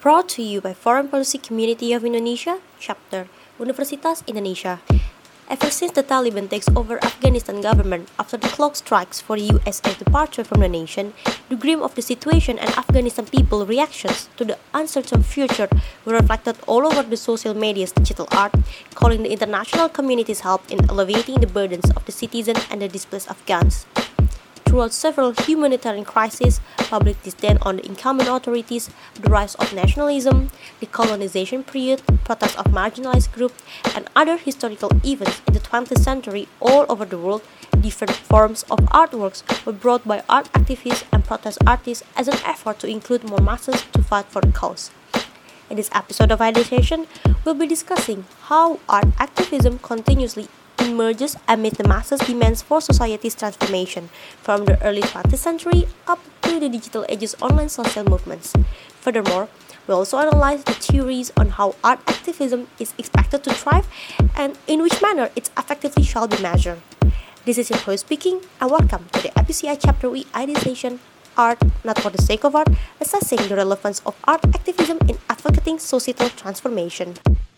Brought to you by Foreign Policy Community of Indonesia, Chapter, Universitas Indonesia. Ever since the Taliban takes over Afghanistan government after the clock strikes for the USA departure from the nation, the grim of the situation and Afghanistan people reactions to the uncertain future were reflected all over the social media's digital art, calling the international community's help in alleviating the burdens of the citizens and the displaced Afghans. Throughout several humanitarian crises, public disdain on the incumbent authorities, the rise of nationalism, the colonization period, protests of marginalized groups, and other historical events in the 20th century all over the world, different forms of artworks were brought by art activists and protest artists as an effort to include more masses to fight for the cause. In this episode of Ideation, we'll be discussing how art activism continuously emerges amid the masses' demands for society's transformation, from the early 20th century up to the digital age's online social movements. Furthermore, we also analyze the theories on how art activism is expected to thrive and in which manner its effectively shall be measured. This is your host speaking, and welcome to the FPCI Chapter E Ideation, Art Not for the Sake of Art, assessing the relevance of art activism in advocating societal transformation.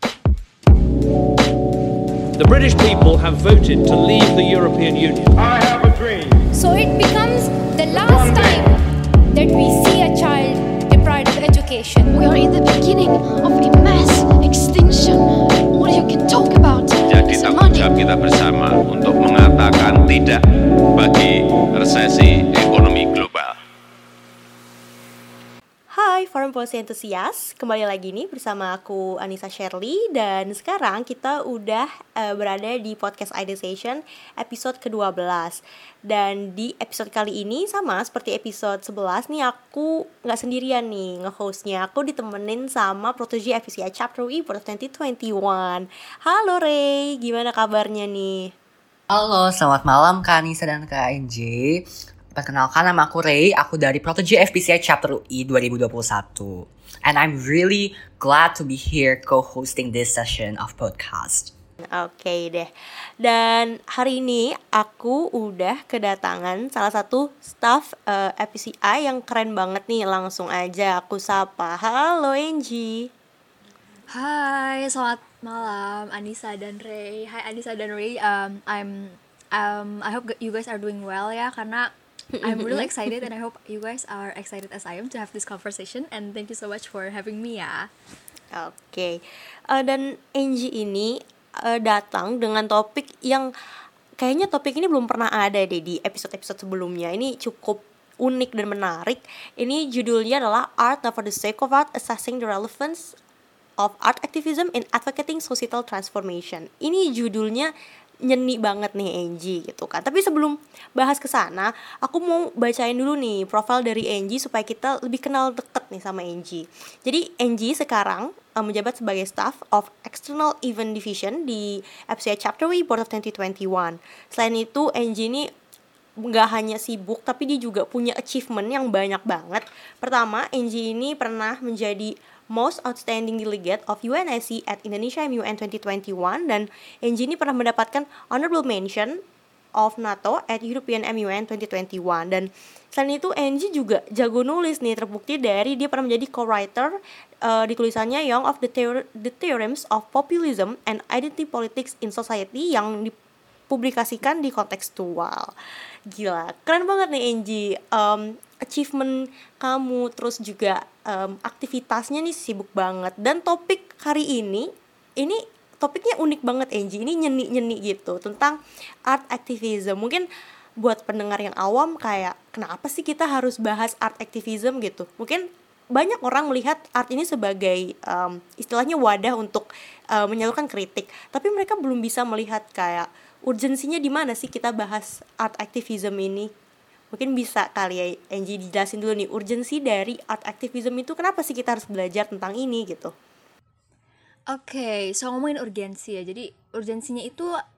The British people have voted to leave the European Union. I have a dream. So it becomes the last time that we see a child deprived of education. We are in the beginning of a mass extinction. All you can talk about Jadi is tanggung money. jawab kita bersama untuk mengatakan tidak bagi resesi ekonomi global. Hai Foreign Policy Enthusiast, kembali lagi nih bersama aku Anissa Shirley. Dan sekarang kita udah berada di podcast Ideation episode ke-12. Dan di episode kali ini sama seperti episode 11 nih, aku gak sendirian nih nge-hostnya. Aku ditemenin sama protege FPCI Chapter E for 2021. Halo Ray, gimana kabarnya nih? Halo, selamat malam Kak Anissa dan Kak NJ. Perkenalkan, nama aku Ray, aku dari Protege FPCI Chapter E 2021. And I'm really glad to be here co-hosting this session of podcast. Oke deh. Dan hari ini aku udah kedatangan salah satu staff FPCI yang keren banget nih. Langsung aja aku sapa. Halo Angie. Hai, selamat malam Anissa dan Ray. Hai Anissa dan Ray. I hope you guys are doing well ya, karena I'm really excited and I hope you guys are excited as I am to have this conversation, and thank you so much for having me ya. Oke. Dan Angie ini datang dengan topik yang kayaknya topik ini belum pernah ada deh di episode-episode sebelumnya. Ini cukup unik dan menarik. Ini judulnya adalah Art Not for the Sake of Art, Assessing the Relevance of Art Activism in Advocating Societal Transformation. Ini judulnya nyeni banget nih Angie gitu kan. Tapi sebelum bahas ke sana, aku mau bacain dulu nih profil dari Angie supaya kita lebih kenal deket nih sama Angie. Jadi Angie sekarang menjabat sebagai staff of External Event Division di FPCI Chapter E Board of 2021. Selain itu Angie ini gak hanya sibuk, tapi dia juga punya achievement yang banyak banget. Pertama, Angie ini pernah menjadi Most Outstanding Delegate of UNSC at Indonesia MUN 2021, dan Angie ini pernah mendapatkan Honorable Mention of NATO at European MUN 2021. Dan selain itu Angie juga jago nulis nih, terbukti dari dia pernah menjadi co-writer di tulisannya Young of the Theorems of Populism and Identity Politics in Society yang dipublikasikan di Kontekstual. Gila, keren banget nih Angie. Achievement kamu, terus juga aktivitasnya nih sibuk banget. Dan topik hari ini topiknya unik banget Angie. Ini nyeni-nyeni gitu tentang art activism. Mungkin buat pendengar yang awam kayak kenapa sih kita harus bahas art activism gitu. Mungkin banyak orang melihat art ini sebagai istilahnya wadah untuk menyalurkan kritik. Tapi mereka belum bisa melihat kayak urgensinya di mana sih kita bahas art activism ini. Mungkin bisa kali ya Angie dijelasin dulu nih urgensi dari art activism itu, kenapa sih kita harus belajar tentang ini gitu. Oke, so ngomongin urgensi ya. Jadi urgensinya itu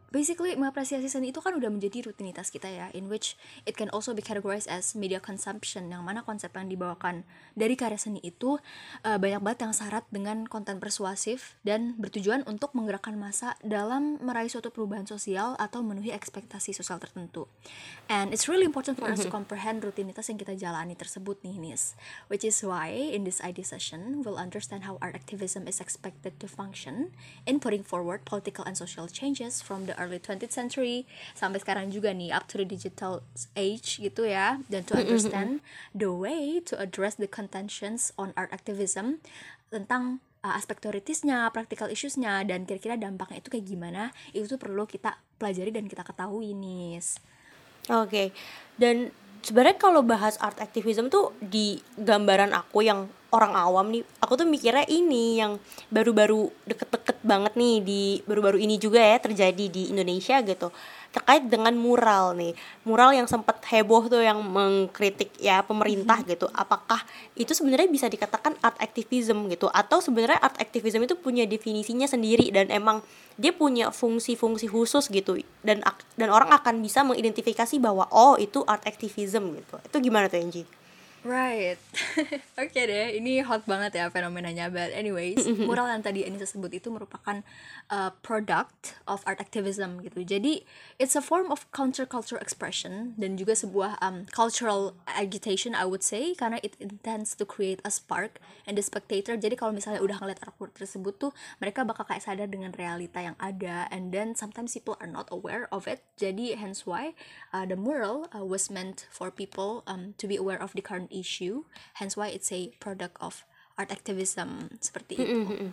basically mengapresiasi seni itu kan udah menjadi rutinitas kita ya, in which it can also be categorized as media consumption, yang mana konsep yang dibawakan dari karya seni itu banyak banget yang syarat dengan konten persuasif dan bertujuan untuk menggerakkan massa dalam meraih suatu perubahan sosial atau memenuhi ekspektasi sosial tertentu. And it's really important for us to comprehend rutinitas yang kita jalani tersebut nih, Nis, which is why in this ID session we'll understand how art activism is expected to function in putting forward political and social changes from the early 20th century sampai sekarang juga nih, up to the digital age gitu ya, dan to understand the way to address the contentions on art activism tentang aspek teoritisnya, practical issues-nya, dan kira-kira dampaknya itu kayak gimana, itu tuh perlu kita pelajari dan kita ketahui nih. Oke. Dan sebenarnya kalau bahas art activism tuh di gambaran aku yang orang awam nih, aku tuh mikirnya ini yang baru-baru deket-deket banget nih, di baru-baru ini juga ya terjadi di Indonesia gitu, terkait dengan mural nih, mural yang sempat heboh tuh yang mengkritik ya pemerintah gitu. Apakah itu sebenarnya bisa dikatakan art activism gitu, atau sebenarnya art activism itu punya definisinya sendiri dan emang dia punya fungsi-fungsi khusus gitu, dan orang akan bisa mengidentifikasi bahwa oh itu art activism gitu. Itu gimana tuh, Angie? Right. Oke deh, ini hot banget ya fenomenanya. But anyways, mural yang tadi Anissa sebut itu merupakan product of art activism gitu. Jadi it's a form of counterculture expression dan juga sebuah cultural agitation, I would say, karena it intends to create a spark and the spectator. Jadi kalau misalnya udah ngeliat artwork tersebut tuh, mereka bakal kayak sadar dengan realita yang ada, and then sometimes people are not aware of it. Jadi hence why the mural was meant for people to be aware of the current issue, hence why it's a product of art activism, seperti itu.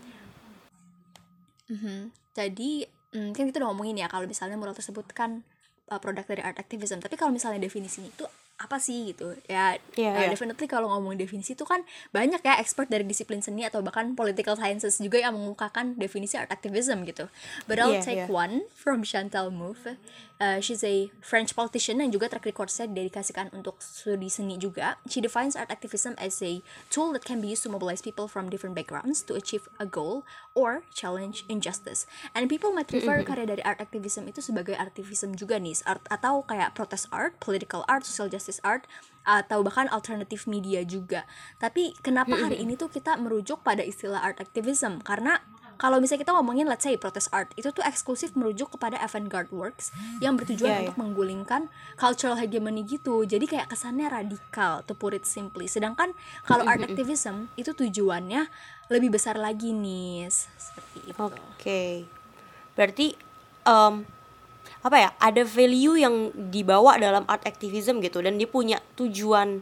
Jadi kan kita udah ngomongin ya kalau misalnya mural tersebut kan produk dari art activism, tapi kalau misalnya definisinya itu apa sih gitu ya. Definitely kalau ngomong definisi itu kan banyak ya expert dari disiplin seni atau bahkan political sciences juga yang mengungkapkan definisi art activism gitu. But I'll take one from Chantal Mouffe. She's a French politician yang juga track record-nya dedikasikan untuk studi seni juga. She defines art activism as a tool that can be used to mobilize people from different backgrounds to achieve a goal or challenge injustice. And people might refer karya dari art activism itu sebagai artivism juga nih, art atau kayak protest art, political art, social justice art, atau bahkan alternative media juga. Tapi kenapa hari ini tuh kita merujuk pada istilah art activism? Karena kalau misalnya kita ngomongin let's say protest art, itu tuh eksklusif merujuk kepada avant-garde works yang bertujuan untuk menggulingkan cultural hegemony gitu. Jadi kayak kesannya radikal, to put it simply. Sedangkan kalau art activism itu tujuannya lebih besar lagi nih, seperti itu. Oke. Berarti apa ya, ada value yang dibawa dalam art activism gitu, dan dia punya tujuan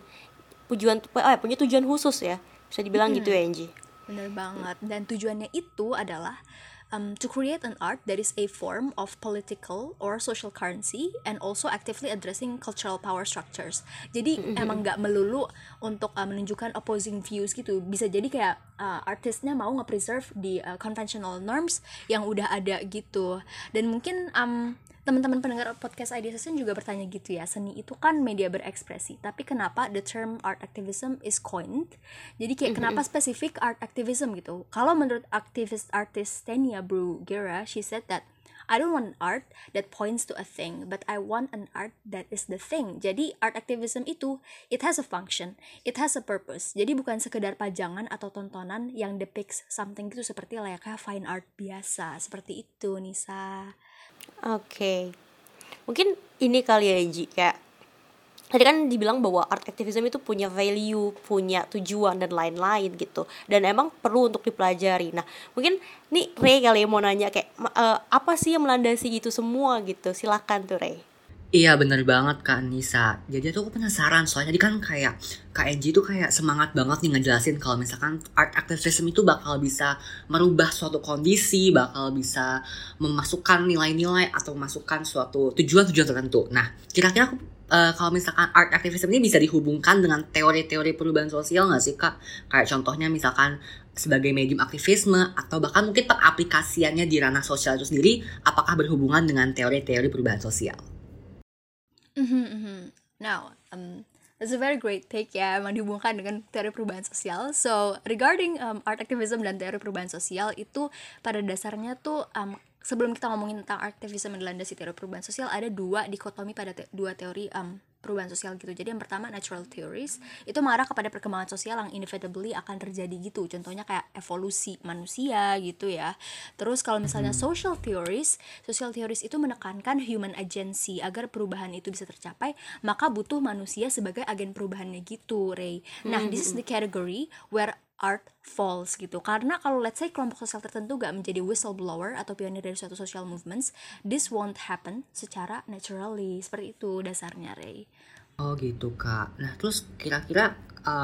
khusus ya, bisa dibilang gitu ya, Angie. Bener banget. Dan tujuannya itu adalah to create an art that is a form of political or social currency and also actively addressing cultural power structures. Jadi emang gak melulu untuk menunjukkan opposing views gitu. Bisa jadi kayak artisnya mau nge-preserve di conventional norms yang udah ada gitu. Dan mungkin teman-teman pendengar podcast ID Session juga bertanya gitu ya, seni itu kan media berekspresi, tapi kenapa the term art activism is coined? Jadi kayak kenapa spesifik art activism gitu? Kalau menurut artis Tania Bruguera, she said that I don't want art that points to a thing, but I want an art that is the thing. Jadi art activism itu, it has a function, it has a purpose. Jadi bukan sekedar pajangan atau tontonan yang depicts something gitu seperti layaknya fine art biasa. Seperti itu, Nisa. Oke. Mungkin ini kali ya, Angie, kayak tadi kan dibilang bahwa art activism itu punya value, punya tujuan dan lain-lain gitu, dan emang perlu untuk dipelajari. Nah, mungkin nih Ray kali ya mau nanya kayak apa sih yang melandasi itu semua gitu. Silakan tuh, Ray. Iya bener banget Kak Nisa. Jadi aku penasaran, soalnya tadi kan kayak Kak Angie tuh kayak semangat banget nih ngejelasin kalau misalkan art activism itu bakal bisa merubah suatu kondisi, bakal bisa memasukkan nilai-nilai atau memasukkan suatu tujuan-tujuan tertentu. Nah, kira-kira aku kalau misalkan art activism ini bisa dihubungkan dengan teori-teori perubahan sosial gak sih Kak? Kayak contohnya misalkan sebagai medium aktivisme, atau bahkan mungkin pengaplikasiannya di ranah sosial itu sendiri, apakah berhubungan dengan teori-teori perubahan sosial? Now, that's a very great take ya, emang dihubungkan dengan teori perubahan sosial. So, regarding art activism dan teori perubahan sosial itu pada dasarnya tuh sebelum kita ngomongin tentang aktivisme dan landasi teori perubahan sosial, ada dua dikotomi pada dua teori perubahan sosial gitu. Jadi yang pertama natural theories, itu mengarah kepada perkembangan sosial yang inevitably akan terjadi gitu. Contohnya kayak evolusi manusia gitu ya. Terus kalau misalnya social theories itu menekankan human agency, agar perubahan itu bisa tercapai, maka butuh manusia sebagai agen perubahannya gitu, Ray. Nah, this is the category where art falls gitu. Karena kalau let's say kelompok sosial tertentu gak menjadi whistleblower atau pionir dari suatu social movements, this won't happen secara naturally. Seperti itu dasarnya, Ray. Oh gitu Kak. Nah terus kira-kira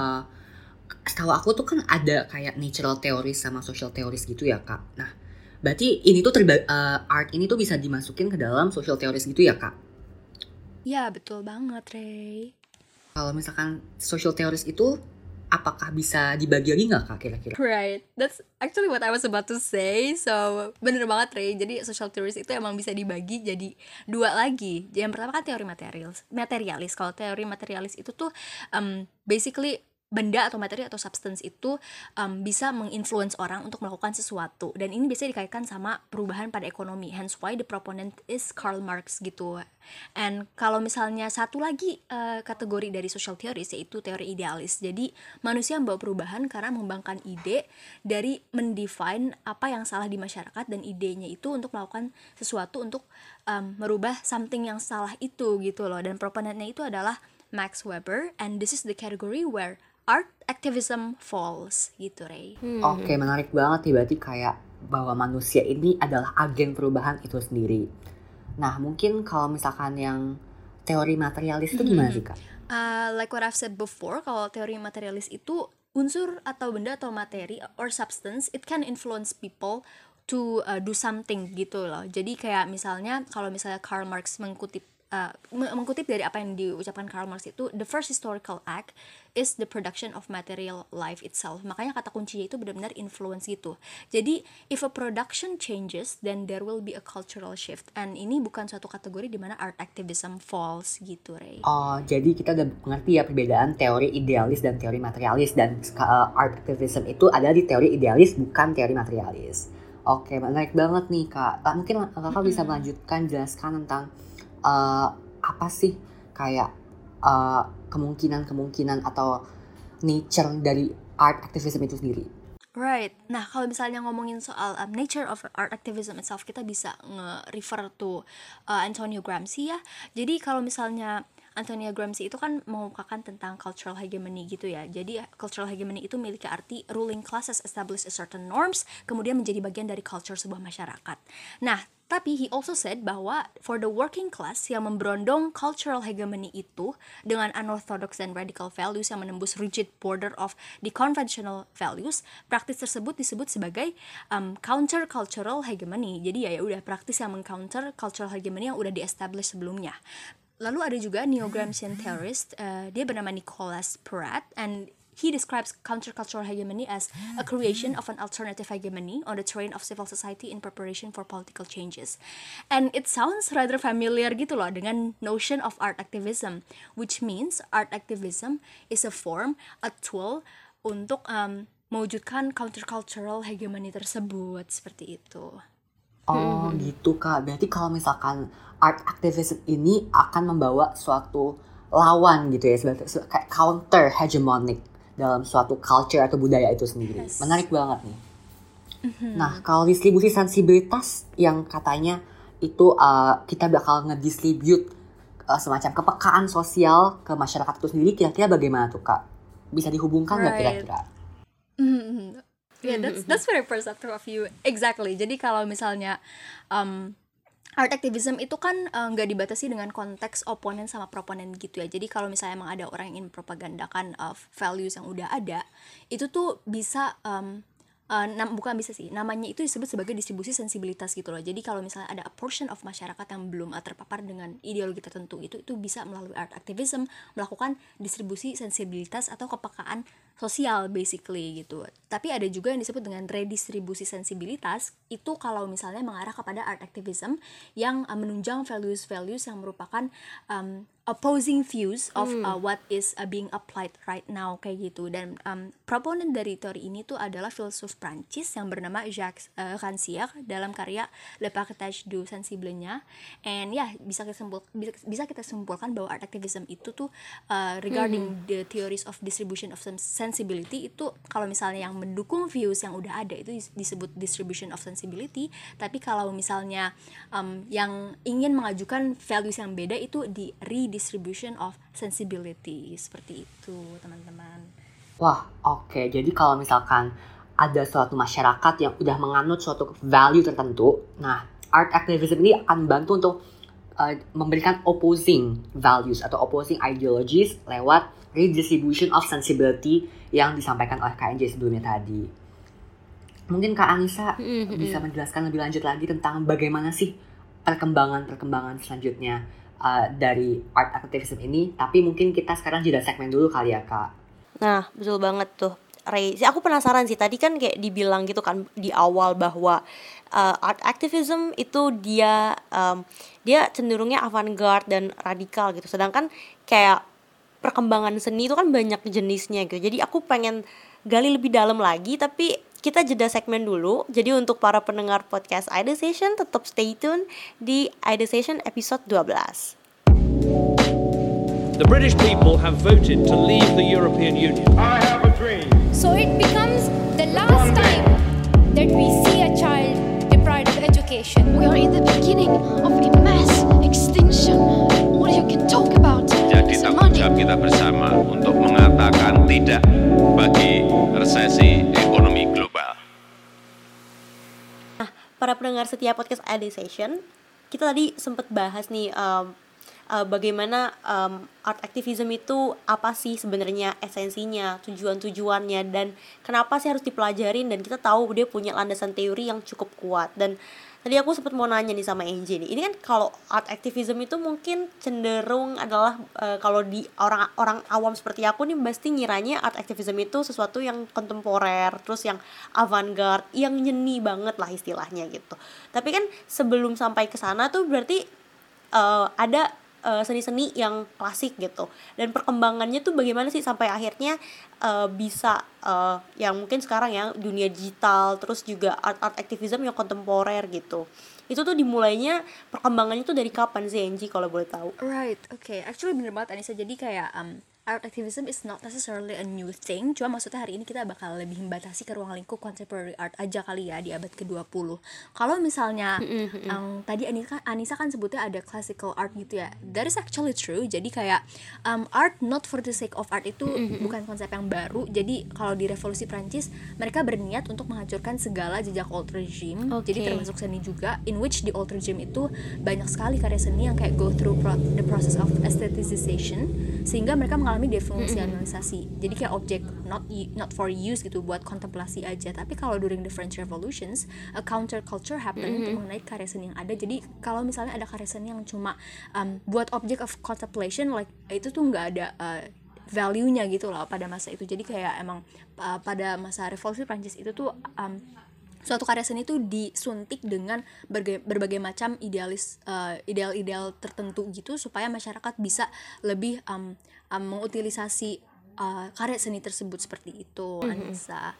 setahu aku tuh kan ada kayak natural theories sama social theories gitu ya Kak. Nah berarti ini tuh art ini tuh bisa dimasukin ke dalam social theories gitu ya Kak? Ya betul banget, Ray. Kalau misalkan social theories itu apakah bisa dibagi lagi nggak Kak kira-kira? Right, that's actually what I was about to say. So bener banget, Ray. Jadi social theories itu emang bisa dibagi jadi dua lagi. Yang pertama kan teori materialis. Kalau teori materialis itu tuh basically benda atau materi atau substance itu bisa menginfluence orang untuk melakukan sesuatu, dan ini biasanya dikaitkan sama perubahan pada ekonomi, hence why the proponent is Karl Marx gitu. And kalau misalnya satu lagi kategori dari social theories yaitu teori idealis. Jadi manusia membawa perubahan karena mengembangkan ide dari mendefine apa yang salah di masyarakat, dan idenya itu untuk melakukan sesuatu untuk merubah something yang salah itu gitu loh. Dan proponentnya itu adalah Max Weber, and this is the category where art activism falls gitu, Ray. Oke, menarik banget nih, berarti kayak bahwa manusia ini adalah agen perubahan itu sendiri. Nah, mungkin kalau misalkan yang teori materialis itu gimana sih, Kak? Like what I've said before, kalau teori materialis itu unsur atau benda atau materi or substance, it can influence people to do something gitu loh. Jadi kayak misalnya kalau misalnya Karl Marx mengutip dari apa yang diucapkan Karl Marx itu, the first historical act is the production of material life itself. Makanya kata kuncinya itu benar-benar influence gitu. Jadi if a production changes, then there will be a cultural shift. And ini bukan suatu kategori di mana art activism falls gitu, Ray. Oh, jadi kita udah mengerti ya perbedaan teori idealis dan teori materialis, dan art activism itu ada di teori idealis bukan teori materialis. Oke, menarik banget nih Kak. Mungkin Kakak bisa melanjutkan jelaskan tentang apa sih kayak kemungkinan atau nature dari art activism itu sendiri. Right. Nah, kalau misalnya ngomongin soal nature of art activism itself, kita bisa nge-refer to Antonio Gramsci ya. Jadi kalau misalnya Antonio Gramsci itu kan mengukakan tentang cultural hegemony gitu ya. Jadi cultural hegemony itu memiliki arti ruling classes establish a certain norms, kemudian menjadi bagian dari culture sebuah masyarakat. Nah, tapi he also said bahwa for the working class yang memberondong cultural hegemony itu dengan unorthodox dan radical values yang menembus rigid border of the conventional values, praktis tersebut disebut sebagai counter cultural hegemony. Jadi ya udah praktis yang mengcounter cultural hegemony yang udah di-establish sebelumnya. Lalu ada juga neo-Gramscian theorist, dia bernama Nicholas Peratt, and he describes countercultural hegemony as a creation of an alternative hegemony on the terrain of civil society in preparation for political changes. And it sounds rather familiar gitu loh dengan notion of art activism, which means art activism is a form, a tool untuk mewujudkan countercultural hegemony tersebut, seperti itu. Oh gitu Kak, berarti kalau misalkan art activism ini akan membawa suatu lawan gitu ya, kayak counter hegemonic dalam suatu culture atau budaya itu sendiri. Yes. Menarik banget nih. Nah, kalau distribusi sensibilitas yang katanya itu kita bakal ngedistribute semacam kepekaan sosial ke masyarakat itu sendiri, kira-kira bagaimana tuh Kak? Bisa dihubungkan nggak kira-kira? Yeah, that's very perceptive of you. Exactly. Jadi kalau misalnya art activism itu kan nggak dibatasi dengan konteks oponen sama proponen gitu ya. Jadi kalau misalnya emang ada orang yang ingin mempropagandakan values yang udah ada, itu tuh bisa bukan bisa sih, namanya itu disebut sebagai distribusi sensibilitas gitu loh. Jadi kalau misalnya ada a portion of masyarakat yang belum terpapar dengan ideologi tertentu, itu bisa melalui art activism melakukan distribusi sensibilitas atau kepekaan sosial basically gitu. Tapi ada juga yang disebut dengan redistribusi sensibilitas, itu kalau misalnya mengarah kepada art activism yang menunjang values-values yang merupakan opposing views of what is being applied right now kayak gitu. Dan proponent dari teori ini tuh adalah filsuf Prancis yang bernama Jacques Rancière dalam karya Le Partage du Sensible-nya. And bisa kita simpulkan bahwa art activism itu tuh regarding the theories of distribution of sensibility itu, kalau misalnya yang mendukung views yang udah ada itu disebut distribution of sensibility, tapi kalau misalnya yang ingin mengajukan values yang beda itu di redistribution of sensibility. Seperti itu teman-teman. Wah, oke. Jadi kalau misalkan ada suatu masyarakat yang udah menganut suatu value tertentu, nah art activism ini akan bantu untuk memberikan opposing values atau opposing ideologies lewat redistribution of sensibility yang disampaikan oleh KNJ sebelumnya tadi. Mungkin Kak Anissa bisa menjelaskan lebih lanjut lagi tentang bagaimana sih perkembangan selanjutnya dari art activism ini. Tapi mungkin kita sekarang jeda segmen dulu kali ya Kak. Nah, betul banget tuh, Ray. Aku penasaran sih, tadi kan kayak dibilang gitu kan di awal bahwa art activism itu dia cenderungnya avant-garde dan radikal gitu. Sedangkan kayak perkembangan seni itu kan banyak jenisnya gitu. Jadi aku pengen gali lebih dalam lagi, tapi kita jeda segmen dulu. Jadi untuk para pendengar podcast Ida Session, tetap stay tune di Ida Session episode 12. The British people have voted to leave the European Union. So it becomes the last time that we see a child deprived of education. We are in the beginning of a mass extinction. All you can talk about Jadi is tanggung money. jawab kita bersama untuk mengatakan tidak bagi resesi ekonomi global. Para pendengar setiap podcast Ida Session, kita tadi sempat bahas nih bagaimana art activism itu apa sih sebenarnya esensinya, tujuannya, dan kenapa sih harus dipelajarin, dan kita tahu dia punya landasan teori yang cukup kuat. Dan tadi aku sempat mau nanya nih sama Angie nih, ini kan kalau art activism itu mungkin cenderung adalah kalau di orang awam seperti aku nih pasti ngiranya art activism itu sesuatu yang kontemporer, terus yang avant-garde, yang nyeni banget lah istilahnya gitu. Tapi kan sebelum sampai ke sana tuh berarti ada seni-seni yang klasik gitu, dan perkembangannya tuh bagaimana sih sampai akhirnya bisa yang mungkin sekarang ya dunia digital, terus juga art activism yang kontemporer gitu. Itu tuh dimulainya, perkembangannya tuh dari kapan sih Angie kalau boleh tahu? Right, okay. Actually bener banget Anissa. Jadi kayak art activism is not necessarily a new thing. Cuma maksudnya hari ini kita bakal lebih membatasi ke ruang lingkup contemporary art aja kali ya di abad ke-20. Kalau misalnya tadi Anissa kan sebutnya ada classical art gitu ya. That is actually true. Jadi kayak art not for the sake of art itu bukan konsep yang baru. Jadi kalau di Revolusi Prancis mereka berniat untuk menghancurkan segala jejak old regime. Jadi termasuk seni juga, in which the old regime itu banyak sekali karya seni yang kayak go through the process of aestheticization, sehingga mereka mengalami defungsionalisasi. Jadi kayak objek not for use gitu, buat kontemplasi aja. Tapi kalau during the French Revolutions, a counter culture happen untuk mengenai karya seni yang ada. Jadi kalau misalnya ada karya seni yang cuma buat object of contemplation, like itu tuh nggak ada value-nya gitu loh pada masa itu. Jadi kayak emang pada masa Revolusi Prancis itu tuh suatu karya seni itu disuntik dengan berbagai macam ideal-ideal tertentu gitu, supaya masyarakat bisa lebih mengutilisasi karya seni tersebut. Seperti itu, Anissa.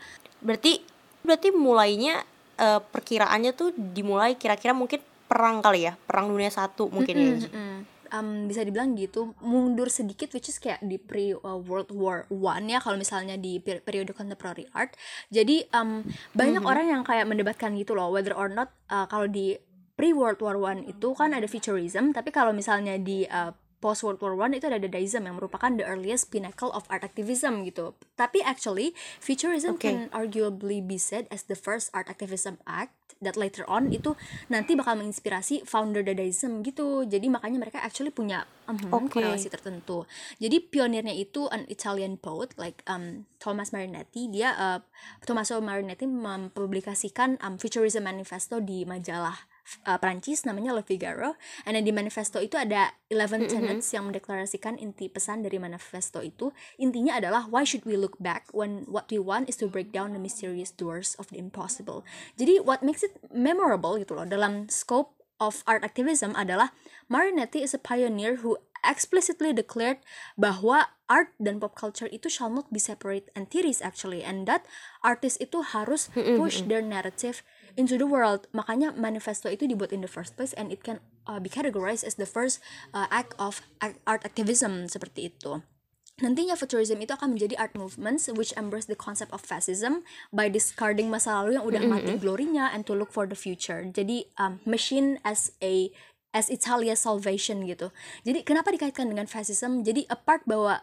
Berarti mulainya perkiraannya tuh dimulai kira-kira mungkin perang kali ya, perang dunia 1 mungkin ya. Bisa dibilang gitu, mundur sedikit, which is kayak di pre-World War I ya, kalau misalnya di periode contemporary art. Jadi banyak orang yang kayak mendebatkan gitu loh, whether or not kalau di pre-World War I itu kan ada futurism, tapi kalau misalnya di post-World War I itu ada Dadaism yang merupakan the earliest pinnacle of art activism gitu. Tapi actually, futurism can arguably be said as the first art activism act that later on itu nanti bakal menginspirasi founder Dadaism gitu. Jadi makanya mereka actually punya korelasi tertentu. Jadi pionirnya itu an Italian poet like Thomas Marinetti. Tommaso Marinetti mempublikasikan Futurism Manifesto di majalah Prancis namanya Le Figaro. And di manifesto itu ada 11 tenets yang mendeklarasikan inti pesan dari manifesto itu. Intinya adalah why should we look back when what we want is to break down the mysterious doors of the impossible. Jadi what makes it memorable gitu loh dalam scope of art activism adalah Marinetti is a pioneer who explicitly declared bahwa art dan pop culture itu shall not be separate entities actually, and that artists itu harus push their narrative into the world. Makanya manifesto itu dibuat in the first place, and it can be categorized as the first act of art activism seperti itu. Nantinya futurism itu akan menjadi art movements which embrace the concept of fascism by discarding masa lalu yang udah mati glorinya and to look for the future. Jadi machine as Italia's salvation gitu. Jadi kenapa dikaitkan dengan fascism? Jadi apart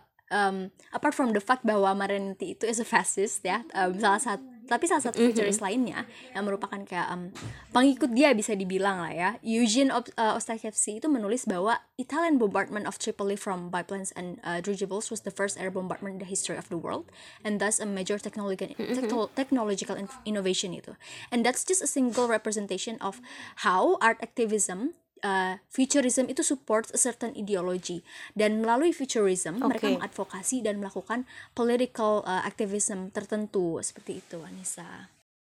from the fact bahwa Marinetti itu is a fascist ya, salah satu futurist lainnya yang merupakan kayak pengikut dia bisa dibilang lah ya, Eugene Ostachevsky itu menulis bahwa Italian bombardment of Tripoli from biplanes and dirigibles was the first air bombardment in the history of the world, and thus a major technological innovation itu. And that's just a single representation of how art activism futurism itu supports a certain ideology, dan melalui futurism mereka mengadvokasi dan melakukan political activism tertentu seperti itu, Anissa.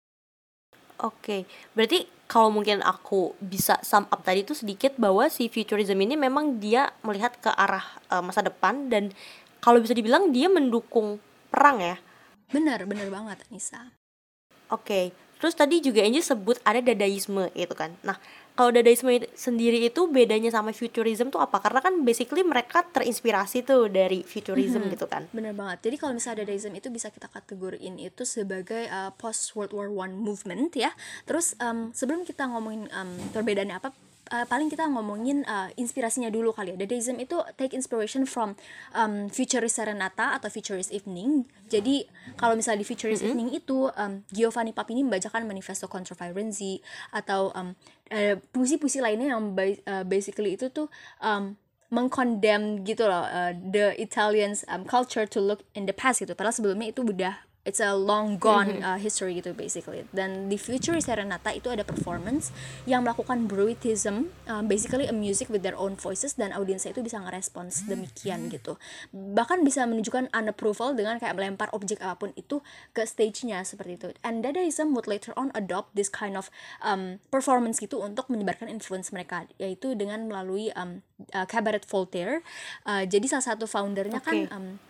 Oke, berarti kalau mungkin aku bisa sum up tadi itu sedikit bahwa si futurism ini memang dia melihat ke arah masa depan, dan kalau bisa dibilang dia mendukung perang ya. Benar banget, Anissa. Oke, terus tadi juga Angie sebut ada dadaisme gitu kan. Nah, kalau dadaisme sendiri itu bedanya sama futurism tuh apa? Karena kan basically mereka terinspirasi tuh dari futurism gitu kan. Bener banget. Jadi kalau misalnya dadaism itu bisa kita kategoriin itu sebagai post World War I movement ya. Terus sebelum kita ngomongin perbedaannya apa, paling kita ngomongin inspirasinya dulu kali ya. Dadaism itu take inspiration from Futurist Serenata atau Futurist Evening. Jadi kalau misalnya di Futurist Evening itu Giovanni Papini membacakan Manifesto Contro Firenze atau puisi-puisi lainnya yang basically itu tuh mengkondem gitu loh the Italians culture to look in the past gitu. Padahal sebelumnya itu udah it's a long gone history gitu basically. Dan di Futurist Serenata itu ada performance yang melakukan Bruitism, basically a music with their own voices, dan audiensnya itu bisa ngerespons demikian gitu. Bahkan bisa menunjukkan unapproval dengan kayak melempar objek apapun itu ke stage-nya seperti itu. And Dadaism would later on adopt this kind of performance gitu untuk menyebarkan influence mereka, yaitu dengan melalui Cabaret Voltaire. Jadi salah satu foundernya kan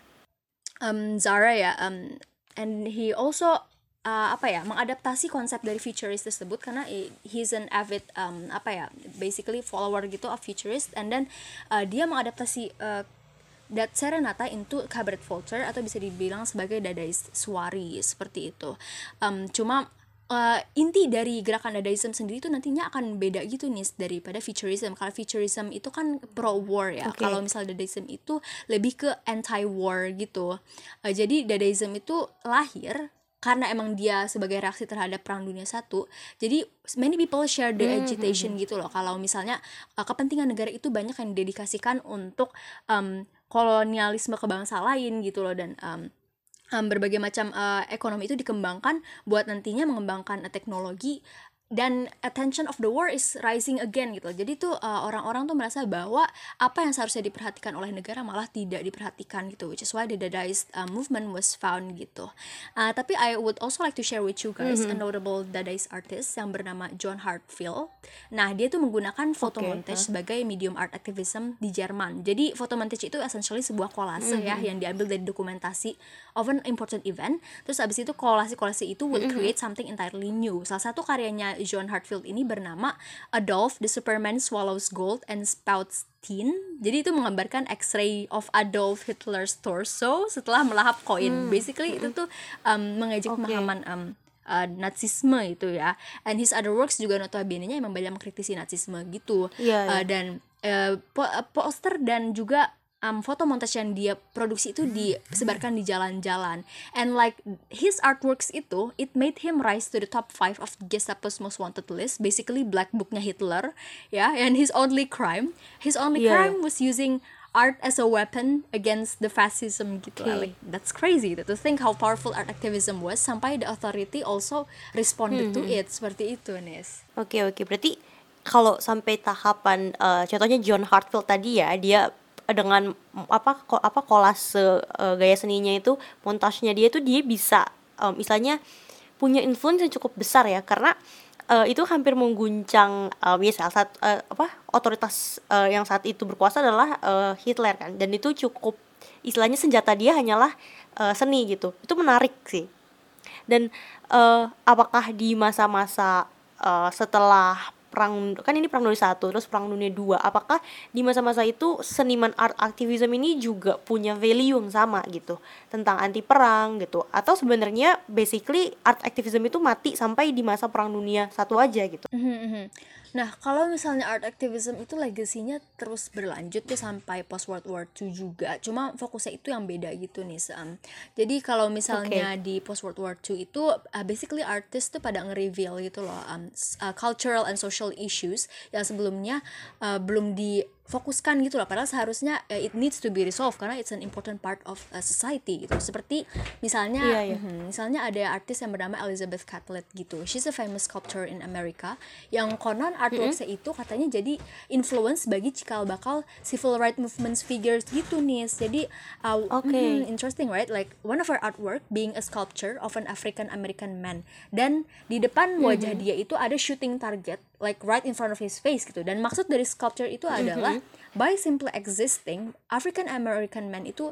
Zara ya, and he also mengadaptasi konsep dari futurist tersebut karena he's an avid basically follower gitu of futurist, and then dia mengadaptasi that Serenata into Cabaret Voltaire atau bisa dibilang sebagai dadaist suari seperti itu. Cuma inti dari gerakan dadaism sendiri itu nantinya akan beda gitu nih daripada futurism. Kalau futurism itu kan pro war ya. Kalau misalnya dadaism itu lebih ke anti war gitu. Jadi dadaism itu lahir karena emang dia sebagai reaksi terhadap Perang Dunia I. Jadi many people share the agitation gitu loh. Kalau misalnya kepentingan negara itu banyak yang didedikasikan untuk kolonialisme ke bangsa lain gitu loh, dan berbagai macam ekonomi itu dikembangkan buat nantinya mengembangkan teknologi, dan attention of the war is rising again gitu. Jadi tuh orang-orang tuh merasa bahwa apa yang seharusnya diperhatikan oleh negara malah tidak diperhatikan gitu, which is why the Dadaist movement was found gitu. Tapi I would also like to share with you guys a notable Dadaist artist yang bernama John Hartfield. Nah, dia tuh menggunakan photo montage sebagai medium art activism di Jerman. Jadi photo montage itu essentially sebuah kolase ya yang diambil dari dokumentasi of an important event. Terus abis itu kolase itu will create something entirely new. Salah satu karyanya John Hartfield ini bernama Adolf, the Superman Swallows Gold and Spouts Tin. Jadi itu menggambarkan X-ray of Adolf Hitler's torso setelah melahap koin. Basically itu tuh mengejek pemahaman Nazisme itu ya. And his other works juga notabene-nya emang banyak mengkritisi Nazisme gitu. Dan poster dan juga foto montage yang dia produksi itu disebarkan di jalan-jalan, and like his artworks itu it made him rise to the top 5 of Gestapo's most wanted list, basically black booknya Hitler ya. And his only crime was using art as a weapon against the fascism gitu. Like, that's crazy to think how powerful art activism was sampai the authority also responded to it seperti itu, Nis. Oke, berarti kalau sampai tahapan contohnya John Hartfield tadi ya, dia dengan kolase gaya seninya itu, montasenya dia tuh dia bisa istilahnya punya influence yang cukup besar ya, karena itu hampir mengguncang otoritas yang saat itu berkuasa adalah Hitler kan, dan itu cukup istilahnya senjata dia hanyalah seni gitu. Itu menarik sih. Dan apakah di masa-masa setelah perang, kan ini perang dunia 1 terus perang dunia 2, apakah di masa-masa itu seniman art activism ini juga punya value yang sama gitu tentang anti perang gitu, atau sebenarnya basically art activism itu mati sampai di masa perang dunia 1 aja gitu? Nah, kalau misalnya art activism itu legasinya terus berlanjut ya sampai post World War II juga. Cuma fokusnya itu yang beda gitu nih, Jadi kalau misalnya di post World War II itu basically artis tuh pada nge-reveal gitu loh cultural and social issues yang sebelumnya belum difokuskan gitu loh. Padahal seharusnya it needs to be resolved karena it's an important part of society gitu. Seperti misalnya misalnya ada artis yang bernama Elizabeth Catlett gitu. She's a famous sculptor in America yang konon artworks-nya itu katanya jadi influence bagi cikal bakal civil rights movement figures gitu nih. Jadi interesting right, like one of her artwork being a sculpture of an African American man, dan di depan wajah dia itu ada shooting target like right in front of his face gitu. Dan maksud dari sculpture itu adalah by simply existing African American man itu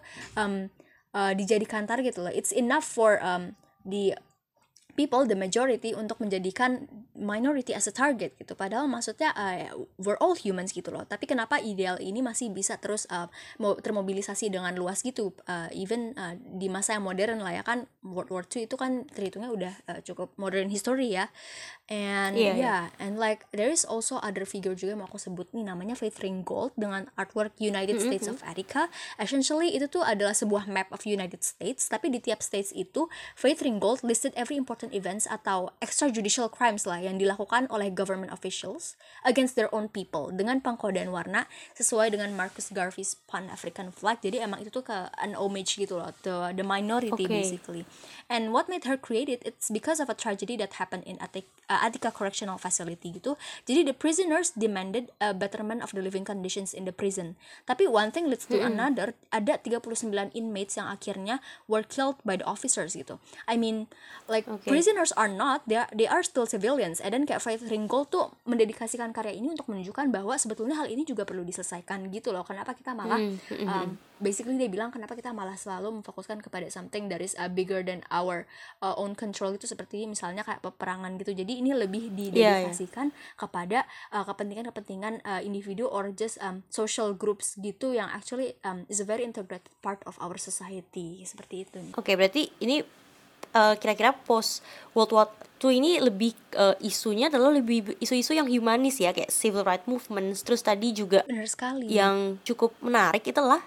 dijadikan target loh. It's enough for the people, the majority, untuk menjadikan minority as a target gitu. Padahal maksudnya we're all humans gitu loh. Tapi kenapa ideal ini masih bisa terus termobilisasi dengan luas gitu, even di masa yang modern lah ya kan. World War II itu kan terhitungnya udah cukup modern history ya. And and like there is also other figure juga yang mau aku sebut nih, namanya Faith Ringgold dengan artwork United States of America. Essentially itu tuh adalah sebuah map of United States, tapi di tiap states itu Faith Ringgold listed every important events atau extrajudicial crimes lah yang dilakukan oleh government officials against their own people dengan pengkodean warna sesuai dengan Marcus Garvey's Pan-African flag. Jadi emang itu tuh ke an homage gitu loh to the minority basically. And what made her create it, it's because of a tragedy that happened in Attica Correctional Facility gitu. Jadi the prisoners demanded a betterment of the living conditions in the prison. Tapi one thing leads to another, ada 39 inmates yang akhirnya were killed by the officers gitu. I mean like prisoners are not, they are still civilians. Dan kayak Faith Ringgold tuh mendedikasikan karya ini untuk menunjukkan bahwa sebetulnya hal ini juga perlu diselesaikan gitu loh. Kenapa kita malah basically dia bilang kenapa kita malah selalu memfokuskan kepada something that is bigger than our own control gitu, seperti misalnya kayak peperangan gitu. Jadi ini lebih didedikasikan kepada kepentingan individu or just social groups gitu yang actually is a very integrated part of our society, seperti itu. Oke, berarti ini kira-kira post World War II ini lebih isunya adalah lebih isu-isu yang humanis ya, kayak civil rights movements. Terus tadi juga benar sekali yang cukup menarik itulah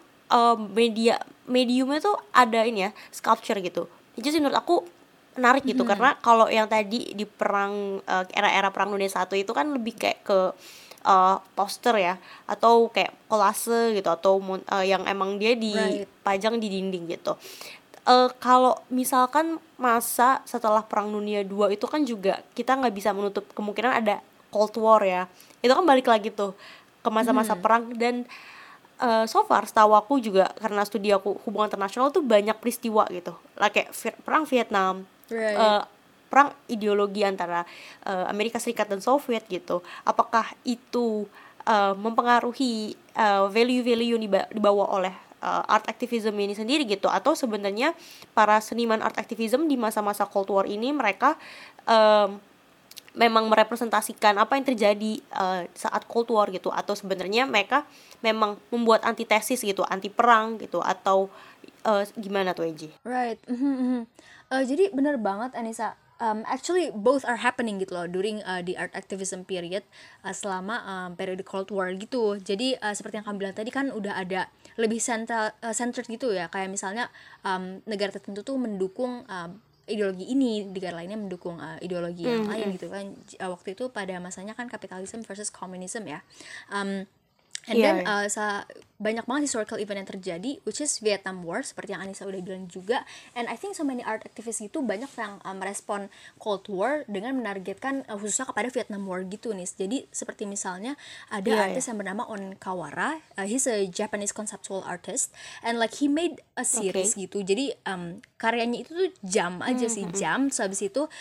mediumnya tuh ada ini ya, sculpture gitu. Itu sih menurut aku menarik gitu, karena kalau yang tadi di perang era-era perang dunia 1 itu kan lebih kayak ke poster ya, atau kayak kolase gitu, atau yang emang dia dipajang di dinding gitu. Kalau misalkan masa setelah perang dunia 2 itu kan juga kita nggak bisa menutup kemungkinan ada Cold War ya. Itu kan balik lagi tuh ke masa-masa perang. Dan so far setahu aku juga, karena studi aku hubungan internasional tuh banyak peristiwa gitu lah, kayak perang Vietnam, perang ideologi antara Amerika Serikat dan Soviet gitu. Apakah itu mempengaruhi value-value yang dibawa oleh art activism ini sendiri gitu, atau sebenarnya para seniman art activism di masa-masa Cold War ini mereka memang merepresentasikan apa yang terjadi saat Cold War gitu, atau sebenarnya mereka memang membuat antitesis gitu, anti perang gitu, atau gimana tuh Eji? Right. Jadi benar banget Anissa. Actually both are happening gitu loh during the art activism period, selama periode Cold War gitu. Jadi seperti yang kamu bilang tadi kan udah ada lebih centered gitu ya, kayak misalnya negara tertentu tuh mendukung ideologi ini, negara lainnya mendukung ideologi yang lain gitu kan. Waktu itu pada masanya kan kapitalisme versus komunisme ya. And Iya, then iya. banyak banget historical event yang terjadi, which is Vietnam War, seperti yang Anissa udah bilang juga. And I think so many art activists gitu banyak yang merespon Cold War dengan menargetkan khususnya kepada Vietnam War gitu nih. Jadi seperti misalnya ada Iya, artis yang bernama On Kawara, he's a Japanese conceptual artist, and like he made a series gitu. Jadi karyanya itu tuh jam aja sih, jam. So habis itu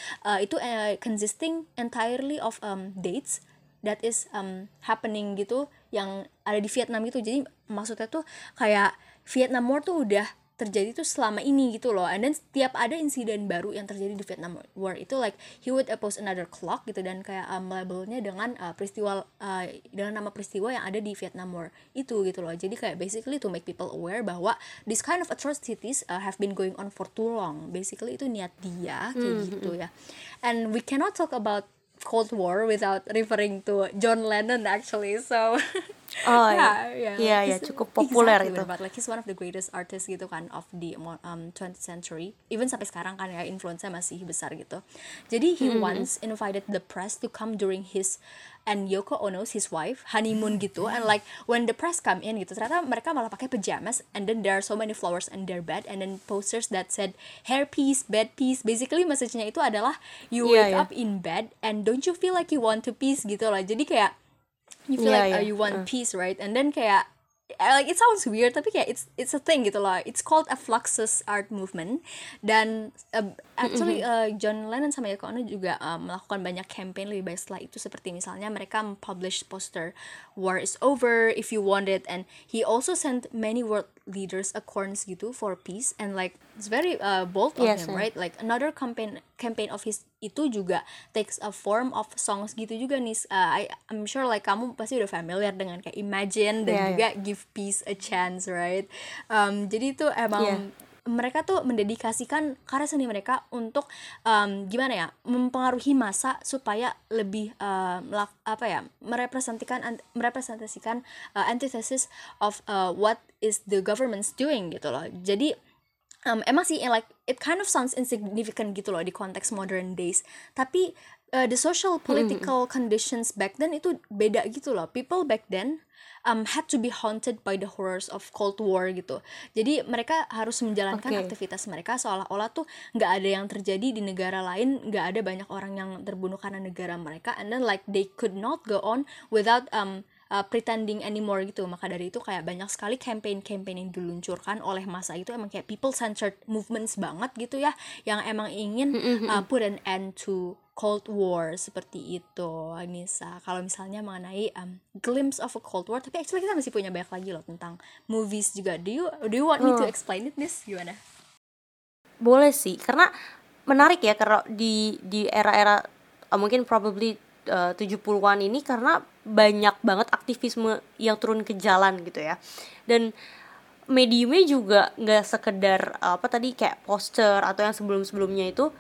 consisting entirely of dates that is happening gitu yang ada di Vietnam gitu. Jadi maksudnya tuh kayak Vietnam War tuh udah terjadi tuh selama ini gitu loh. And then setiap ada insiden baru yang terjadi di Vietnam War itu like he would post another clock gitu, dan kayak labelnya dengan peristiwa dengan nama peristiwa yang ada di Vietnam War itu gitu loh. Jadi kayak basically to make people aware bahwa this kind of atrocities have been going on for too long. Basically itu niat dia kayak gitu ya. And we cannot talk about Cold War without referring to John Lennon actually. So Oh yeah, iya, he's- cukup populer exactly, itu. but like he's one of the greatest artists gitu kan of the 20th century. Even sampai sekarang kan ya influence-nya masih besar gitu. Jadi he once invited the press to come during his and Yoko Ono's, his wife, honeymoon gitu. And like when the press come in gitu, ternyata mereka malah pakai pajamas, and then there are so many flowers in their bed, and then posters that said hair peace, bed peace. Basically message-nya itu adalah you Iya, wake iya. up in bed and don't you feel like you want to peace gitu lah. Jadi kayak you feel Iya, like iya. you want peace, right? And then kayak like it sounds weird tapi kayak it's a thing gitu loh. It's called a Fluxus art movement. Dan actually John Lennon sama Yoko Ono juga melakukan banyak campaign lebih baik setelah itu, seperti misalnya mereka publish poster war is over if you want it, and he also sent many world leaders acorns gitu for peace, and like it's very bold of Yes, him, yeah. right? Like another campaign of his itu juga takes a form of songs gitu juga nih. I'm sure like kamu pasti udah familiar dengan kayak Imagine dan Iya, juga Give Peace a Chance, right? Jadi itu emang mereka tuh mendedikasikan karya seni mereka untuk gimana ya, mempengaruhi massa supaya lebih merepresentasikan antithesis of what is the government's doing gitu loh. Jadi emang sih like it kind of sounds insignificant gitu loh di konteks modern days, tapi the social political conditions back then itu beda gitu loh. People back then had to be haunted by the horrors of Cold War gitu. Jadi mereka harus menjalankan Oke. aktivitas mereka seolah-olah tuh nggak ada yang terjadi di negara lain, nggak ada banyak orang yang terbunuh karena negara mereka, and then like they could not go on without pretending anymore gitu. Maka dari itu kayak banyak sekali campaign-campaign yang diluncurkan oleh masa itu emang kayak people centered movements banget gitu ya, yang emang ingin put an end to Cold War seperti itu, Anissa. Kalau misalnya mengenai glimpse of a Cold War, tapi actually kita masih punya banyak lagi loh tentang movies juga. Do you want me to explain it, Nis? Gimana? Boleh sih, karena menarik ya kalau di era-era mungkin probably 70-an ini, karena banyak banget aktivisme yang turun ke jalan gitu ya. Dan mediumnya juga nggak sekedar tadi kayak poster atau yang sebelum-sebelumnya itu,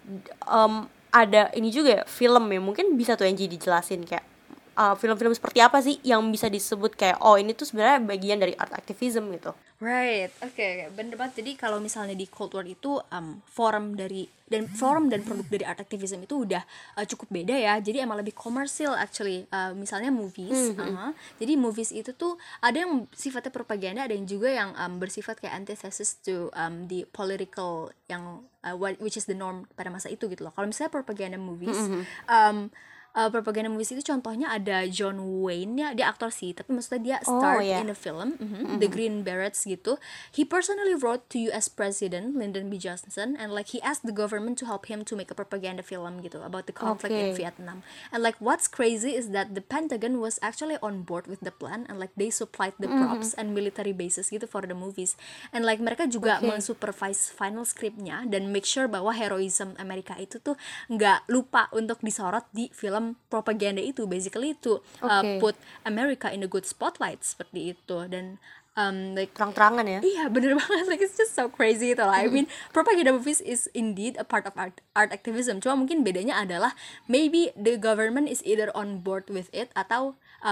ada ini juga ya, film ya, mungkin bisa tuh Angie dijelasin kayak film-film seperti apa sih yang bisa disebut kayak oh ini tuh sebenarnya bagian dari art activism gitu. Right, oke, bener banget. Jadi kalau misalnya di Cold War itu forum dan produk dari art activism itu udah cukup beda ya. Jadi emang lebih komersil actually. Misalnya movies, jadi movies itu tuh ada yang sifatnya propaganda, ada yang juga yang bersifat kayak antithesis to the political yang which is the norm pada masa itu gitu loh. Kalau misalnya propaganda movies, propaganda movies itu contohnya ada John Wayne ya, dia aktor sih, tapi maksudnya dia starred in a film, The Green Berets gitu. He personally wrote to US President Lyndon B. Johnson, and like he asked the government to help him to make a propaganda film gitu about the conflict in Vietnam. And like what's crazy is that the Pentagon was actually on board with the plan, and like they supplied the props and military bases gitu for the movies. And like mereka juga mensupervise final scriptnya dan make sure bahwa heroism Amerika itu tuh nggak lupa untuk disorot di film propaganda itu, basically to put America in a good spotlight seperti itu. Dan like Terang-terangan ya. iya bener banget, like it's just so crazy gitu lah. I mean propaganda movies is indeed a part of art activism, cuma mungkin bedanya adalah maybe the government is either on board with it atau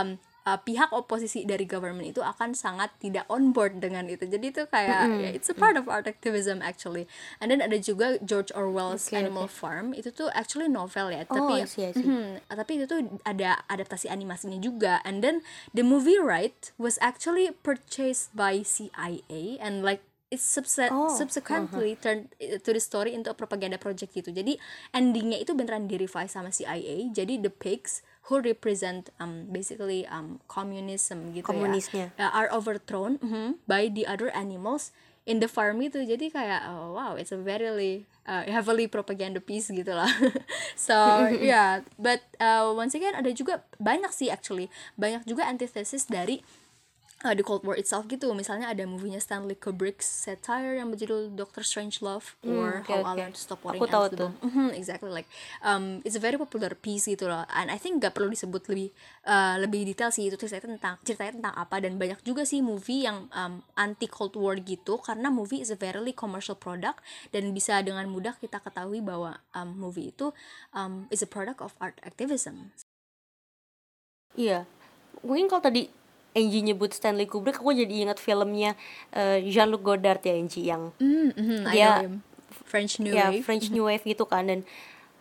pihak oposisi dari government itu akan sangat tidak on board dengan itu. Jadi itu kayak ya, it's a part of art activism actually. And then ada juga George Orwell's Animal Farm, itu tuh actually novel ya, tapi I see. tapi itu tuh ada adaptasi animasinya juga. And then the movie right was actually purchased by CIA and like it's subsequently turned to the story into a propaganda project gitu. Jadi endingnya itu beneran di-revise sama CIA. Jadi the pigs who represent basically communism gitu Komunisnya. are overthrown by the other animals in the farm itu. Jadi kayak oh wow, it's a very heavily propaganda piece gitu lah. So yeah, but once again ada juga banyak sih actually, banyak juga antithesis dari the Cold War itself gitu. Misalnya ada movie-nya Stanley Kubrick's satire yang berjudul Doctor Strangelove or How I Learned to Stop Worrying Aku tahu Ants the Bomb. Exactly, like it's a very popular piece gitu loh. And I think gak perlu disebut lebih detail sih itu ceritanya tentang apa. Dan banyak juga sih movie yang anti Cold War gitu, karena movie is a very commercial product dan bisa dengan mudah kita ketahui bahwa movie itu is a product of art activism. Iya, mungkin kalau tadi Angie nyebut Stanley Kubrick, aku jadi ingat filmnya Jean-Luc Godard ya, Angie, yang I know him. French New Wave. French New Wave gitu kan. Dan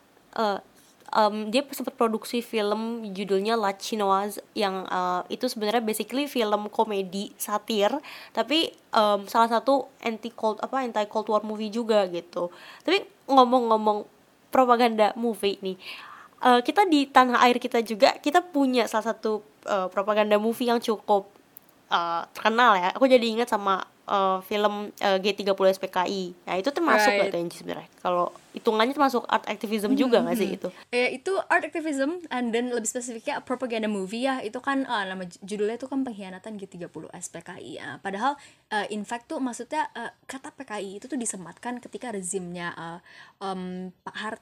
dia sempat produksi film judulnya La Chinoise yang itu sebenarnya basically film komedi satir, tapi salah satu anti Cold War movie juga gitu. Tapi ngomong-ngomong propaganda movie nih, kita di tanah air kita juga kita punya salah satu propaganda movie yang cukup terkenal ya. Aku jadi ingat sama film G30 SPKI. Nah itu termasuk gak tuh Angie sebenarnya? Kalau hitungannya termasuk art activism juga gak sih itu? Ya itu art activism, and then lebih spesifiknya propaganda movie ya. Itu kan nama judulnya itu kan Pengkhianatan G30 SPKI ya. Padahal in fact tuh maksudnya kata PKI itu tuh disematkan ketika rezimnya Pak Harto,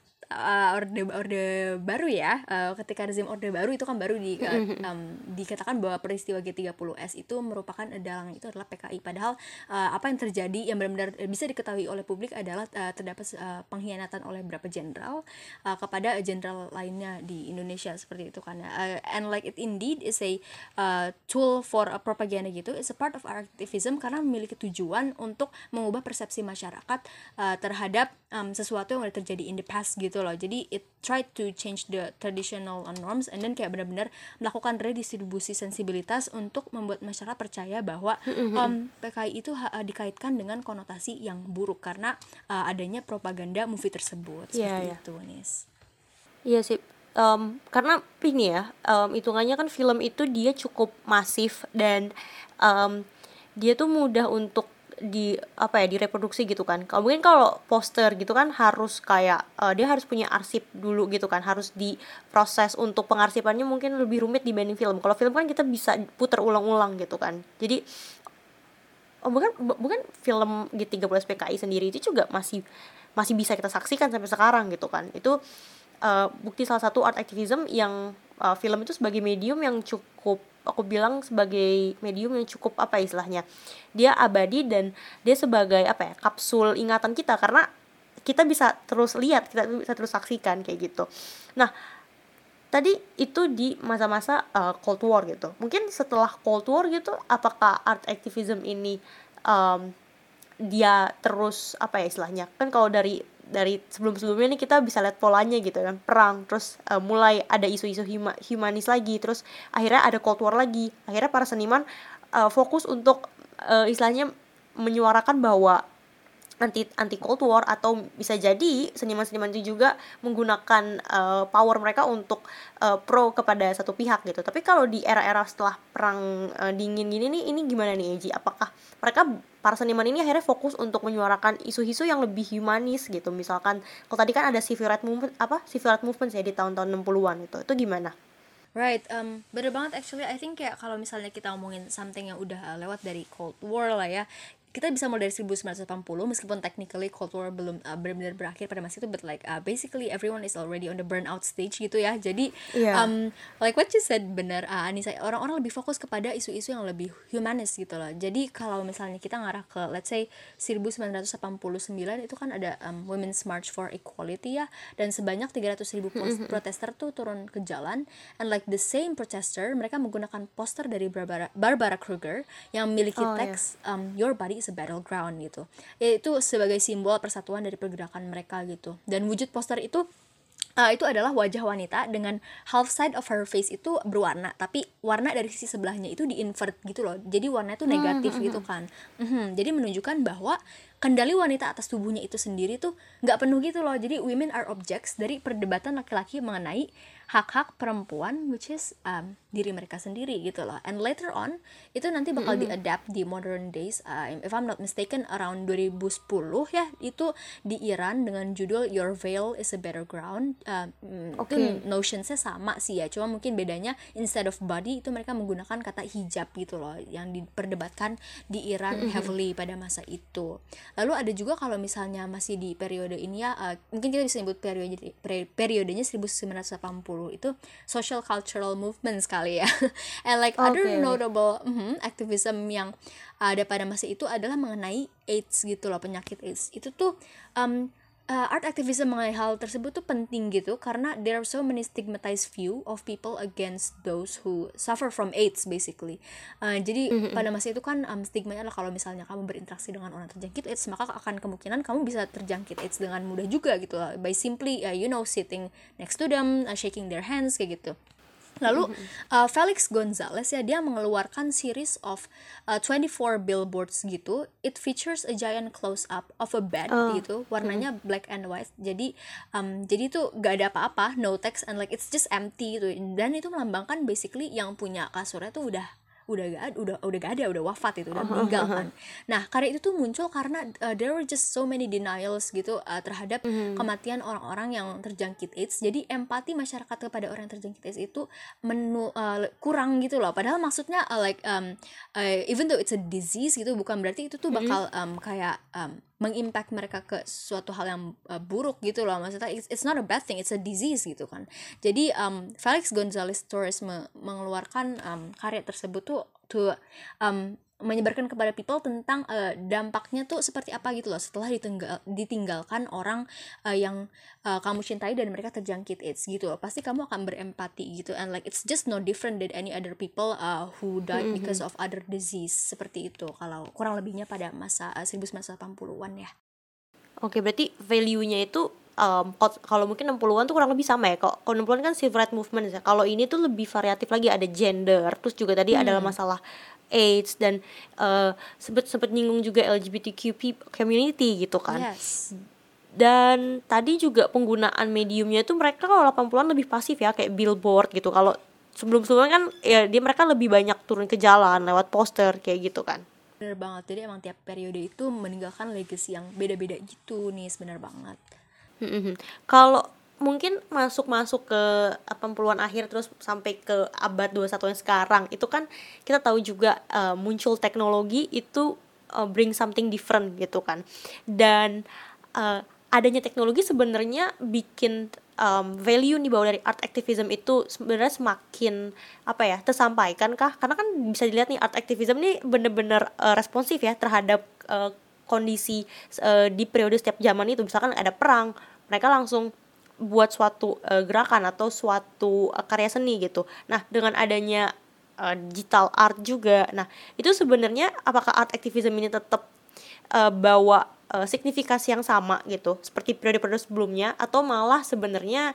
orde baru ya, ketika rezim orde baru itu kan baru dikatakan bahwa peristiwa G30S itu merupakan dalang itu adalah PKI. Padahal apa yang terjadi yang benar-benar bisa diketahui oleh publik adalah terdapat pengkhianatan oleh beberapa jenderal kepada jenderal lainnya di Indonesia seperti itu kan. And like it indeed is a tool for a propaganda gitu. It's a part of activism karena memiliki tujuan untuk mengubah persepsi masyarakat terhadap sesuatu yang udah terjadi in the past gitu loh. Jadi it tried to change the traditional norms and then kayak benar-benar melakukan redistribusi sensibilitas untuk membuat masyarakat percaya bahwa PKI itu dikaitkan dengan konotasi yang buruk karena adanya propaganda movie tersebut seperti itu, Nis. Iya sih. Karena ini ya, hitungannya kan film itu dia cukup masif dan dia tuh mudah untuk direproduksi gitu kan. Kalau mungkin kalau poster gitu kan harus kayak dia harus punya arsip dulu gitu kan, harus diproses untuk pengarsipannya mungkin lebih rumit dibanding film. Kalau film kan kita bisa putar ulang-ulang gitu kan. Jadi bukan film G30 SPKI sendiri itu juga masih bisa kita saksikan sampai sekarang gitu kan. Itu bukti salah satu art activism yang film itu sebagai medium yang cukup, aku bilang sebagai medium yang cukup istilahnya, dia abadi dan dia sebagai kapsul ingatan kita karena kita bisa terus lihat, kita bisa terus saksikan kayak gitu. Nah tadi itu di masa-masa Cold War gitu. Mungkin setelah Cold War gitu, apakah art activism ini dia terus istilahnya, kan kalau dari sebelum-sebelumnya nih kita bisa lihat polanya gitu kan, perang, terus mulai ada isu-isu humanis lagi, terus akhirnya ada Cold War lagi, akhirnya para seniman fokus untuk istilahnya menyuarakan bahwa anti Cold War, atau bisa jadi seniman-seniman itu juga menggunakan power mereka untuk pro kepada satu pihak gitu. Tapi kalau di era-era setelah perang dingin gini nih, ini gimana nih Eji? Apakah para seniman ini akhirnya fokus untuk menyuarakan isu-isu yang lebih humanis gitu? Misalkan kalau tadi kan ada civil rights movement ya di tahun-tahun 60-an itu gimana? Right, bener banget actually. I think kayak kalau misalnya kita ngomongin something yang udah lewat dari Cold War lah ya, kita bisa mulai dari 1980 meskipun technically Cold War belum benar-benar berakhir pada masa itu, but like basically everyone is already on the burnout stage gitu ya. Jadi like what you said benar, Anissa, orang-orang lebih fokus kepada isu-isu yang lebih humanis gitu loh. Jadi kalau misalnya kita ngarah ke let's say 1989 itu kan ada Women's March for Equality ya, dan sebanyak 300,000 protester tuh turun ke jalan, and like the same protester mereka menggunakan poster dari Barbara Kruger yang memiliki teks Your body is a battleground gitu, yaitu sebagai simbol persatuan dari pergerakan mereka gitu. Dan wujud poster itu adalah wajah wanita dengan half side of her face itu berwarna, tapi warna dari sisi sebelahnya itu di-invert gitu loh. Jadi warna itu negatif gitu kan. Jadi menunjukkan bahwa kendali wanita atas tubuhnya itu sendiri tuh nggak penuh gitu loh. Jadi women are objects dari perdebatan laki-laki mengenai hak-hak perempuan, which is diri mereka sendiri gitu loh. And later on itu nanti bakal di-adapt di modern days, if I'm not mistaken around 2010 ya, itu di Iran dengan judul Your Veil is a Battleground. Itu notionsnya sama sih ya, cuma mungkin bedanya instead of body itu mereka menggunakan kata hijab gitu loh, yang diperdebatkan di Iran heavily pada masa itu. Lalu ada juga kalau misalnya masih di periode ini ya, mungkin kita bisa sebut periodenya 1980 itu social cultural movement sekali ya. And like other notable activism yang ada pada masa itu adalah mengenai AIDS gitu loh, penyakit AIDS. Itu tuh art activism mengenai hal tersebut tuh penting gitu, karena there are so many stigmatized view of people against those who suffer from AIDS basically. Jadi pada masa itu kan stigmanya adalah kalau misalnya kamu berinteraksi dengan orang terjangkit AIDS, maka akan kemungkinan kamu bisa terjangkit AIDS dengan mudah juga gitu lah, by simply sitting next to them, shaking their hands kayak gitu. Lalu Felix Gonzalez ya, dia mengeluarkan series of 24 billboards gitu. It features a giant close up of a bed gitu, warnanya black and white. Jadi itu gak ada apa-apa, no text, and like it's just empty gitu. Dan itu melambangkan basically yang punya kasurnya tuh udah gak ada, udah wafat itu, udah meninggal kan. Nah, karya itu tuh muncul karena there were just so many denials gitu terhadap kematian orang-orang yang terjangkit AIDS. Jadi empati masyarakat kepada orang yang terjangkit AIDS itu kurang gitu loh. Padahal maksudnya even though it's a disease gitu, bukan berarti itu tuh bakal mengimpact mereka ke suatu hal yang buruk gitu loh. Maksudnya it's not a bad thing, it's a disease gitu kan. Jadi Felix Gonzalez Torres mengeluarkan karya tersebut tuh menyebarkan kepada people tentang dampaknya tuh seperti apa gitu loh setelah ditinggalkan orang yang kamu cintai dan mereka terjangkit AIDS gitu loh. Pasti kamu akan berempati gitu, and like it's just no different than any other people who died because of other disease, seperti itu kalau kurang lebihnya pada masa 1980-an ya. Oke, berarti value-nya itu kalau mungkin 60-an tuh kurang lebih sama ya. Kalau 60-an kan civil rights movement ya. Kalau ini tuh lebih variatif lagi, ada gender, terus juga tadi adalah masalah AIDS, dan sempet nyinggung juga LGBTQ community gitu kan. Yes. Dan tadi juga penggunaan mediumnya itu mereka kalau 80-an lebih pasif ya, kayak billboard gitu. Kalau sebelum-sebelumnya kan ya mereka lebih banyak turun ke jalan lewat poster kayak gitu kan. Bener banget, jadi emang tiap periode itu meninggalkan legacy yang beda-beda gitu nih, bener banget. Kalau mungkin masuk ke 80-an akhir terus sampai ke abad 21 yang sekarang, itu kan kita tahu juga muncul teknologi itu bring something different gitu kan. Dan adanya teknologi sebenarnya bikin value nih bahwa dari art activism itu sebenarnya semakin tersampaikan kah? Karena kan bisa dilihat nih art activism nih bener-bener responsif ya terhadap kondisi di periode setiap zaman itu. Misalkan ada perang, mereka langsung buat suatu gerakan atau suatu karya seni gitu. Nah, dengan adanya digital art juga, nah itu sebenarnya apakah art activism ini tetap bawa signifikasi yang sama gitu seperti periode-periode sebelumnya, atau malah sebenarnya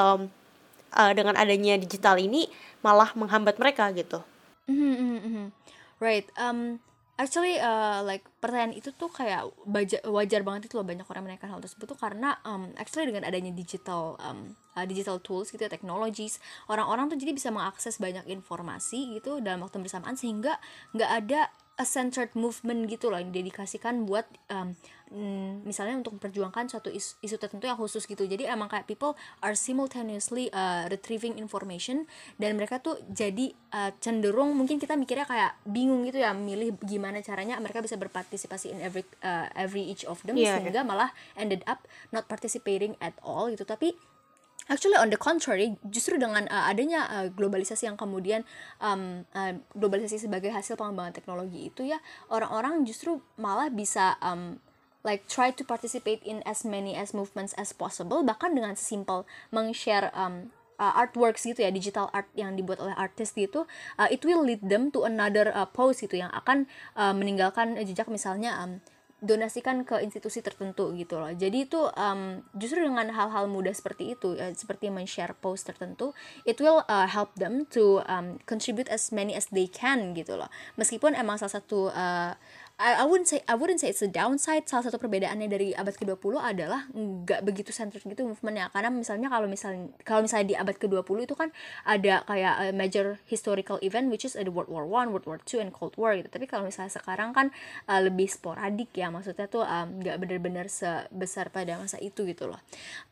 dengan adanya digital ini malah menghambat mereka gitu? Right. Actually like pertanyaan itu tuh kayak wajar banget itu loh, banyak orang menanyakan hal tersebut tuh karena actually dengan adanya digital tools gitu, technologies, orang-orang tuh jadi bisa mengakses banyak informasi gitu dalam waktu bersamaan, sehingga nggak ada a centered movement gitu loh, yang didedikasikan buat misalnya untuk memperjuangkan suatu isu tertentu yang khusus gitu. Jadi emang kayak people are simultaneously retrieving information, dan mereka tuh jadi cenderung, mungkin kita mikirnya kayak bingung gitu ya, milih gimana caranya mereka bisa berpartisipasi in every each of them, sehingga malah ended up not participating at all gitu. Tapi actually on the contrary, justru dengan adanya globalisasi yang kemudian globalisasi sebagai hasil pengembangan teknologi itu ya, orang-orang justru malah bisa like try to participate in as many as movements as possible, bahkan dengan sesimpel meng-share artworks gitu ya, digital art yang dibuat oleh artis gitu, it will lead them to another post gitu yang akan meninggalkan jejak, misalnya donasikan ke institusi tertentu gitu loh. Jadi itu justru dengan hal-hal mudah seperti itu, seperti men-share post tertentu, it will help them to contribute as many as they can gitu loh. Meskipun emang salah satu I wouldn't say it's a downside. Salah satu perbedaannya dari abad ke-20 adalah nggak begitu centered gitu movementnya. Karena misalnya kalau misalnya di abad ke-20 itu kan ada kayak major historical event, which is ada World War I, World War II, and Cold War gitu. Tapi kalau misalnya sekarang kan lebih sporadik ya, maksudnya tuh nggak benar-benar sebesar pada masa itu gitu loh.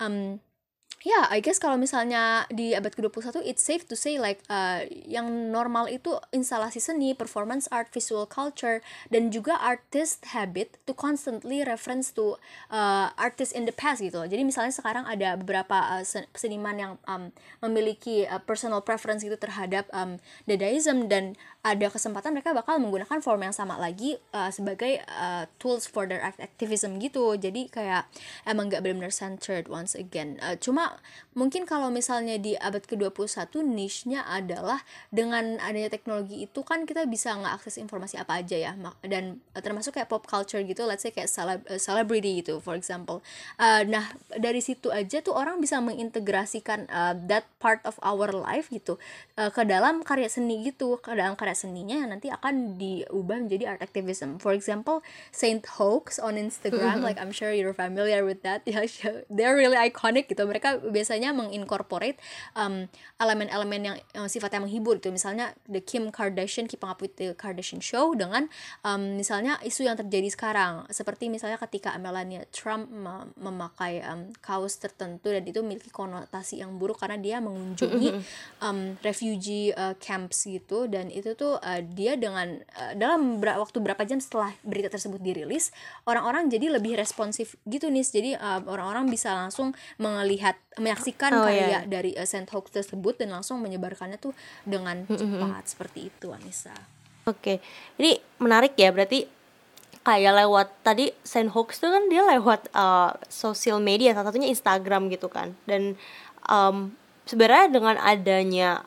Ya, I guess kalau misalnya di abad ke-21, it's safe to say like yang normal itu instalasi seni, performance art, visual culture, dan juga artist habit to constantly reference to artists in the past gitu loh. Jadi misalnya sekarang ada beberapa seniman yang memiliki personal preference gitu terhadap Dadaism, dan ada kesempatan mereka bakal menggunakan form yang sama lagi sebagai tools for their activism gitu. Jadi kayak emang gak benar-benar centered once again. Cuma mungkin kalau misalnya di abad ke-21 niche-nya adalah dengan adanya teknologi itu kan kita bisa ngeakses informasi apa aja ya, dan termasuk kayak pop culture gitu, let's say kayak celebrity gitu for example. Nah dari situ aja tuh orang bisa mengintegrasikan that part of our life gitu ke dalam karya seni gitu, ke dalam karya seninya yang nanti akan diubah menjadi art activism. For example, Saint Hoax on Instagram, like I'm sure you're familiar with that. They're really iconic gitu. Mereka biasanya mengincorporate elemen-elemen yang sifatnya menghibur gitu. Misalnya the Kim Kardashian, Keeping Up with the Kardashian Show, dengan misalnya isu yang terjadi sekarang, seperti misalnya ketika Melania Trump memakai kaos tertentu dan itu memiliki konotasi yang buruk karena dia mengunjungi refugee camps gitu, dan itu tuh dia dengan dalam waktu berapa jam setelah berita tersebut dirilis, orang-orang jadi lebih responsif gitu nih. Jadi orang-orang bisa langsung menyaksikan karya dari Saint Hoax tersebut dan langsung menyebarkannya tuh dengan cepat seperti itu, Anissa. Oke, ini menarik ya, berarti kayak lewat tadi Saint Hoax tuh kan dia lewat sosial media, salah satunya Instagram gitu kan. Dan sebenarnya dengan adanya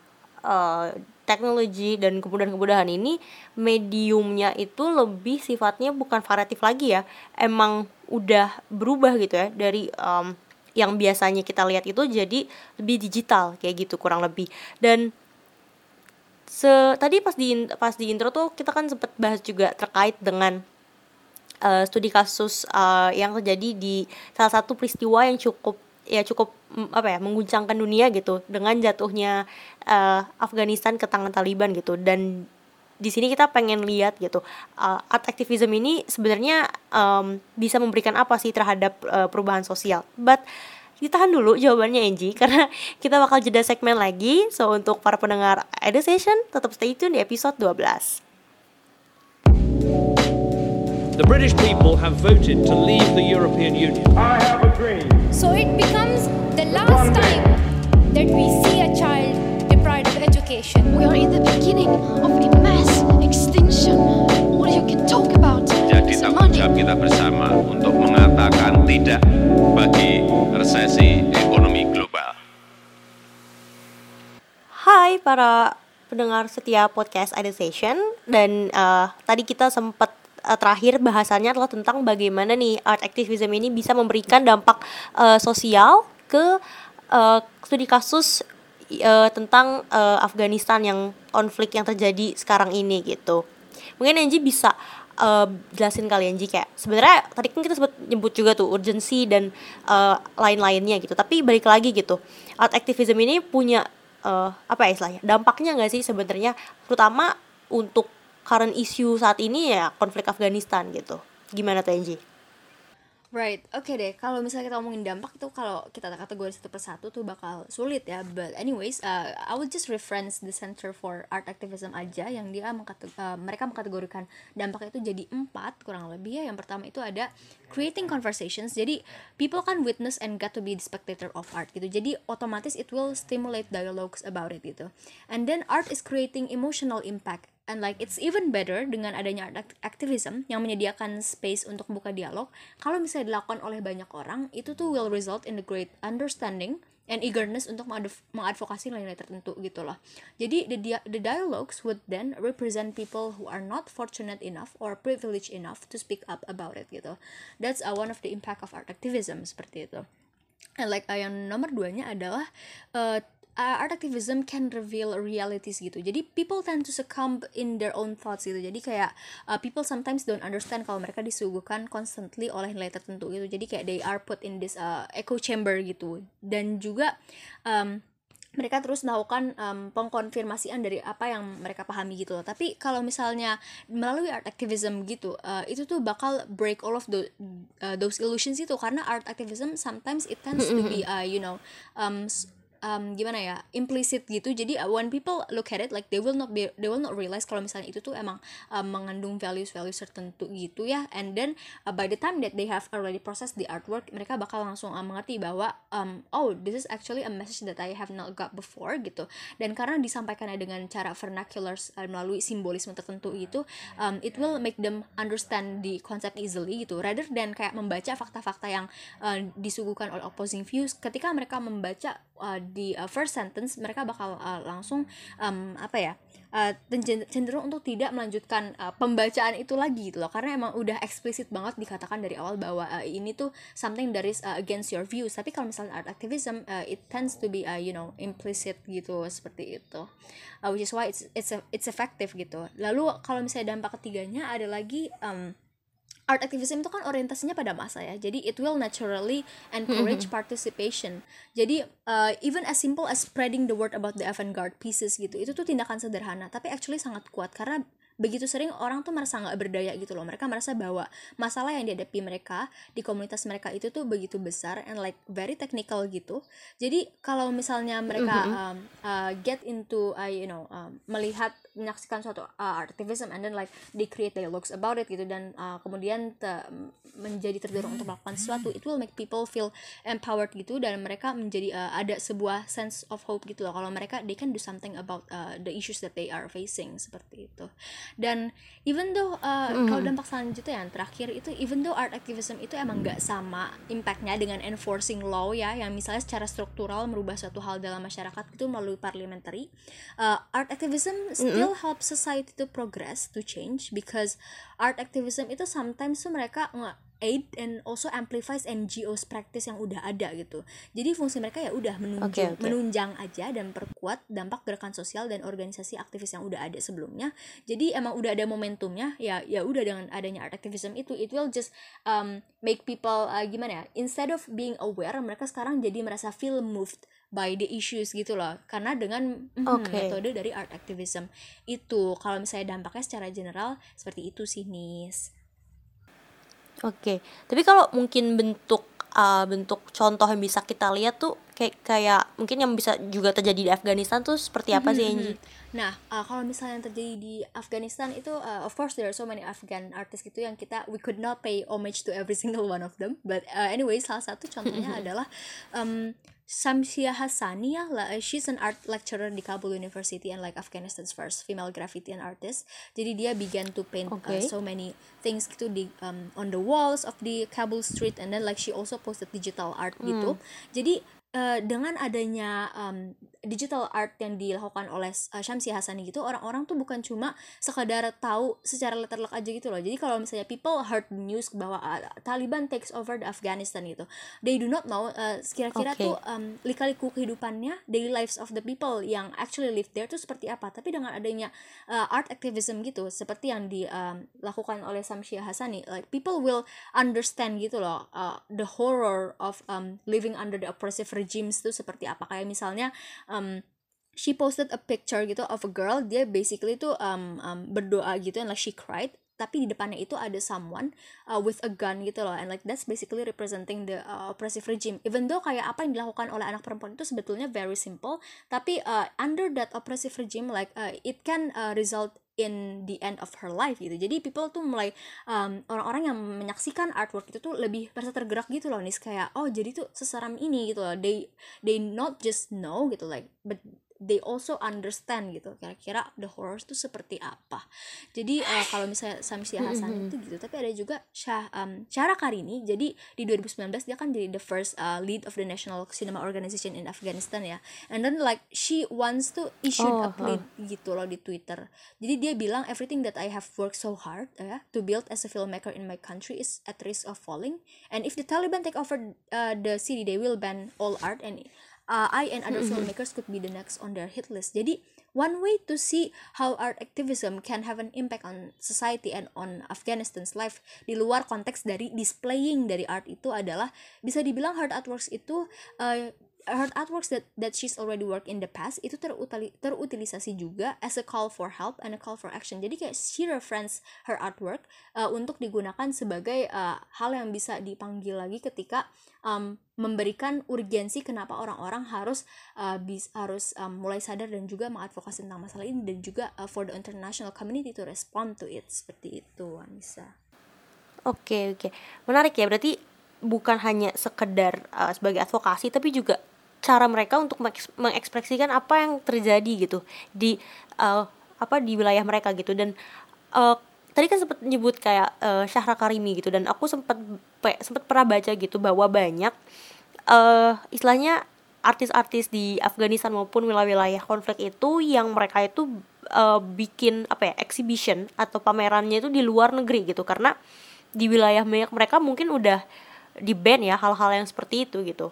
teknologi dan kemudahan-kemudahan ini, mediumnya itu lebih sifatnya bukan variatif lagi ya, emang udah berubah gitu ya, dari yang biasanya kita lihat itu jadi lebih digital kayak gitu kurang lebih. Dan tadi pas di intro tuh kita kan sempat bahas juga terkait dengan studi kasus yang terjadi di salah satu peristiwa yang cukup mengguncangkan dunia gitu, dengan jatuhnya Afghanistan ke tangan Taliban gitu. Dan di sini kita pengen lihat gitu, art activism ini sebenarnya bisa memberikan apa sih terhadap perubahan sosial. But ditahan dulu jawabannya Angie, karena kita bakal jeda segmen lagi. So untuk para pendengar Edu Session, tetap stay tune di episode 12. The British people have voted to leave the European Union. I have a dream. So it becomes the last time that we see a child deprived of education. We are in the beginning of a mass extinction. All you can talk about Jadi is tanggung money. jawab kita bersama untuk mengatakan tidak bagi resesi ekonomi global. Hai para pendengar setia podcast Edu Session. Dan tadi kita sempat terakhir bahasannya adalah tentang bagaimana nih art activism ini bisa memberikan dampak sosial ke studi kasus tentang Afghanistan, yang konflik yang terjadi sekarang ini gitu. Mungkin Angie bisa jelasin kali Angie, kayak sebenarnya tadi kan kita sempat nyebut juga tuh urgensi dan lain-lainnya gitu. Tapi balik lagi gitu, art activism ini punya istilahnya dampaknya nggak sih sebenarnya, terutama untuk current issue saat ini ya konflik Afghanistan gitu. Gimana tuh Angie? Right, oke deh. Kalau misalnya kita ngomongin dampak tuh, kalau kita kategori satu persatu tuh bakal sulit ya. But anyways, I will just reference the Center for Art Activism aja, yang dia mereka mengkategorikan dampak itu jadi 4 kurang lebih ya. Yang pertama itu ada creating conversations. Jadi people can witness and get to be the spectator of art gitu. Jadi otomatis it will stimulate dialogues about it gitu. And then art is creating emotional impact. And like it's even better dengan adanya art activism yang menyediakan space untuk membuka dialog. Kalau misalnya dilakukan oleh banyak orang, itu tuh will result in the great understanding and eagerness untuk mengadvokasi nilai-nilai tertentu gitu loh. Jadi the dialogues would then represent people who are not fortunate enough or privileged enough to speak up about it gitu. That's one of the impact of art activism, seperti itu. And like yang nomor 2-nya adalah art activism can reveal realities gitu. Jadi people tend to succumb in their own thoughts gitu. Jadi kayak people sometimes don't understand kalau mereka disuguhkan constantly oleh nilai tertentu gitu. Jadi kayak they are put in this echo chamber gitu. Dan juga mereka terus melakukan pengkonfirmasian dari apa yang mereka pahami gitu loh. Tapi kalau misalnya melalui art activism gitu, itu tuh bakal break all of those illusions itu, karena art activism sometimes it tends to be gimana ya, implicit gitu. Jadi when people look at it, like they will not realize kalau misalnya itu tuh emang mengandung values tertentu gitu ya. And then by the time that they have already processed the artwork, mereka bakal langsung mengerti bahwa oh, this is actually a message that I have not got before gitu. Dan karena disampaikannya dengan cara vernacular melalui simbolisme tertentu gitu, it will make them understand the concept easily gitu, rather than kayak membaca fakta-fakta yang disuguhkan oleh opposing views. Ketika mereka membaca di first sentence, mereka bakal langsung cenderung untuk tidak melanjutkan pembacaan itu lagi gitu loh, karena emang udah eksplisit banget dikatakan dari awal bahwa ini tuh something that is against your views. Tapi kalau misalnya art activism, it tends to be implicit gitu, seperti itu, which is why it's effective gitu. Lalu kalau misalnya dampak ketiganya ada lagi, art activism itu kan orientasinya pada massa ya, jadi it will naturally encourage participation. Jadi even as simple as spreading the word about the avant-garde pieces gitu, itu tuh tindakan sederhana tapi actually sangat kuat, karena begitu sering orang tuh merasa nggak berdaya gitu loh. Mereka merasa bahwa masalah yang dihadapi mereka di komunitas mereka itu tuh begitu besar and like very technical gitu. Jadi kalau misalnya mereka get into menyaksikan suatu activism and then like they create dialogues about it gitu, dan kemudian menjadi terdorong untuk melakukan sesuatu, it will make people feel empowered gitu, dan mereka menjadi ada sebuah sense of hope gitu loh, kalau mereka they can do something about the issues that they are facing, seperti itu. Dan even though kalau dampak selanjutnya yang terakhir itu, even though art activism itu emang gak sama impactnya dengan enforcing law ya, yang misalnya secara struktural merubah suatu hal dalam masyarakat itu melalui parliamentary, art activism still helps society to progress, to change, because art activism itu sometimes tuh mereka aid and also amplifies NGOs practice yang udah ada gitu. Jadi fungsi mereka ya udah menunjang aja dan perkuat dampak gerakan sosial dan organisasi aktivis yang udah ada sebelumnya. Jadi emang udah ada momentumnya, ya udah dengan adanya art activism itu, it will just make people instead of being aware, mereka sekarang jadi merasa feel moved by the issues gitu loh, karena dengan metode dari art activism itu. Kalau misalnya dampaknya secara general seperti itu sih, Nis. Oke, tapi kalau mungkin bentuk contoh yang bisa kita lihat tuh kayak mungkin yang bisa juga terjadi di Afghanistan tuh seperti apa sih, Angie? Nah, kalau misalnya yang terjadi di Afghanistan itu, of course there are so many Afghan artists gitu yang we could not pay homage to every single one of them, but anyway, salah satu contohnya adalah Shamsia Hassani ya, she's an art lecturer di Kabul University and like Afghanistan's first female graffiti artist. Jadi dia began to paint so many things gitu di on the walls of the Kabul street, and then like she also posted digital art gitu. Jadi dengan adanya digital art yang dilakukan oleh Shamsi Hassani gitu, orang-orang tuh bukan cuma sekadar tahu secara letter-luck aja gitu loh. Jadi kalau misalnya people heard the news bahwa Taliban takes over the Afghanistan gitu, they do not know kira-kira tuh lika-liku kehidupannya, daily lives of the people yang actually live there tuh seperti apa. Tapi dengan adanya art activism gitu, seperti yang dilakukan oleh Shamsi Hassani, like people will understand gitu loh the horror of living under the oppressive regimes itu seperti apa. Kayak misalnya she posted a picture gitu of a girl, dia basically tuh berdoa gitu, and like she cried, tapi di depannya itu ada someone with a gun gitu loh, and like that's basically representing the oppressive regime. Even though kayak apa yang dilakukan oleh anak perempuan itu sebetulnya very simple, tapi under that oppressive regime like it can result in the end of her life gitu. Jadi people tuh mulai orang-orang yang menyaksikan artwork itu tuh lebih merasa tergerak gitu loh nih, kayak oh jadi tuh seseram ini gitu loh. They not just know gitu like, but they also understand gitu kira-kira the horrors tuh seperti apa. Jadi kalau misalnya Samsia Hassan itu gitu, tapi ada juga Syahra Karini. Jadi di 2019 dia kan jadi the first lead of the National Cinema Organization in Afghanistan ya, and then like she wants to issue a plea gitu loh di Twitter. Jadi dia bilang everything that I have worked so hard to build as a filmmaker in my country is at risk of falling, and if the Taliban take over the city they will ban all art, and I and other filmmakers could be the next on their hit list. Jadi one way to see how art activism can have an impact on society and on Afghanistan's life di luar konteks dari displaying dari art itu adalah bisa dibilang her artworks itu her artworks that she's already worked in the past itu terutilisasi juga as a call for help and a call for action. Jadi kayak she reference her artwork untuk digunakan sebagai hal yang bisa dipanggil lagi ketika memberikan urgensi kenapa orang-orang harus mulai sadar dan juga mengadvokasi tentang masalah ini, dan juga for the international community to respond to it. Seperti itu, Anissa. Oke. Menarik ya, berarti bukan hanya sekedar sebagai advokasi, tapi juga cara mereka untuk mengekspresikan apa yang terjadi gitu di di wilayah mereka gitu. Dan tadi kan sempat nyebut kayak Syahra Karimi gitu, dan aku sempat pernah baca gitu bahwa banyak istilahnya artis-artis di Afghanistan maupun wilayah-wilayah konflik itu yang mereka itu bikin exhibition atau pamerannya itu di luar negeri gitu, karena di wilayah mereka mungkin udah di ban ya hal-hal yang seperti itu gitu.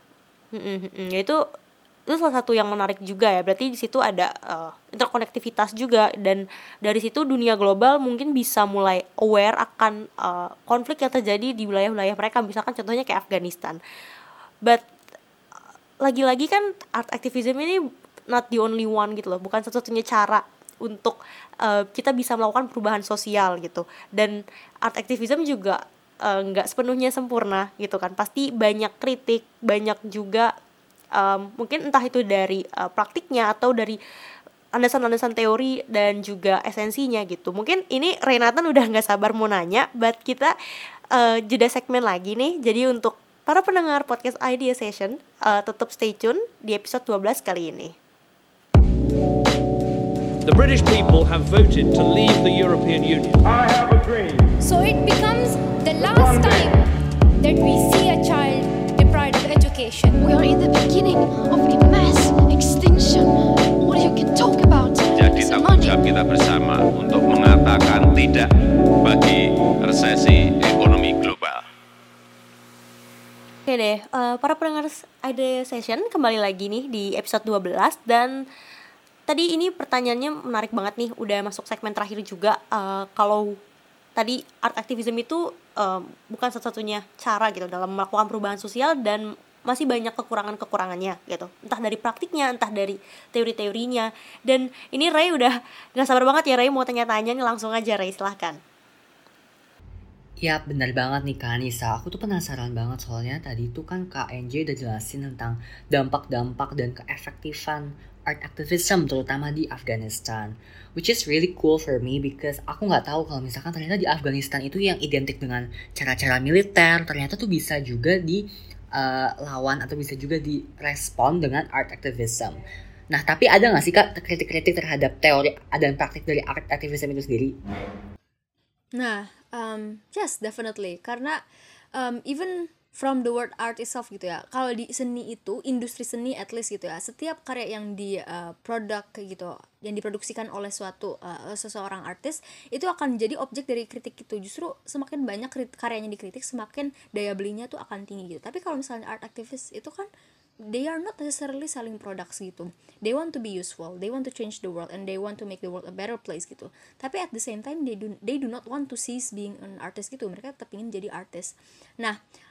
Itu salah satu yang menarik juga ya. Berarti di situ ada interkonektivitas juga, dan dari situ dunia global mungkin bisa mulai aware akan konflik yang terjadi di wilayah-wilayah mereka, misalkan contohnya kayak Afghanistan. But lagi-lagi kan art activism ini not the only one gitu loh, bukan satu-satunya cara untuk kita bisa melakukan perubahan sosial gitu. Dan art activism juga nggak sepenuhnya sempurna gitu kan, pasti banyak kritik, banyak juga mungkin entah itu dari praktiknya atau dari landasan-landasan teori dan juga esensinya gitu. Mungkin ini Renatan udah nggak sabar mau nanya, but kita jeda segmen lagi nih. Jadi untuk para pendengar podcast Idea Session, tetap stay tune di episode 12 kali ini. The British people have voted to leave the European Union. I have a dream. So it becomes the last time that we see a child deprived of education. We are in the beginning of a mass extinction. All you can talk about Jadi is tanggung money. jawab kita bersama untuk mengatakan tidak bagi resesi ekonomi global. Oke deh, para pendengar Idea Session, kembali lagi nih di episode 12. Dan tadi ini pertanyaannya menarik banget nih, udah masuk segmen terakhir juga. Kalau tadi art activism itu bukan satu-satunya cara gitu dalam melakukan perubahan sosial, dan masih banyak kekurangannya gitu, entah dari praktiknya, entah dari teori-teorinya. Dan ini Ray udah gak sabar banget ya, Ray mau tanya-tanya nih, langsung aja Ray, silahkan. Ya benar banget nih Kak Anissa, aku tuh penasaran banget soalnya tadi tuh kan Kak NJ udah jelasin tentang dampak-dampak dan keefektifan art activism terutama di Afghanistan, which is really cool for me because aku nggak tahu kalau misalkan ternyata di Afghanistan itu yang identik dengan cara-cara militer ternyata tuh bisa juga dilawan atau bisa juga direspon dengan art activism. Nah tapi ada nggak sih Kak kritik-kritik terhadap teori dan praktik dari art activism itu sendiri? Nah, yes, definitely. Karena even from the word art itself gitu ya, kalau di seni itu, industri seni at least gitu ya, setiap karya yang produk gitu, yang diproduksikan oleh seseorang artis, itu akan jadi objek dari kritik gitu. Justru semakin banyak karyanya dikritik, semakin daya belinya tuh akan tinggi gitu. Tapi kalau misalnya art activist itu kan, they are not necessarily selling products gitu. They want to be useful, they want to change the world, and they want to make the world a better place gitu. Tapi at the same time they do not want to cease being an artist gitu. Mereka tetap ingin jadi artis. Nah,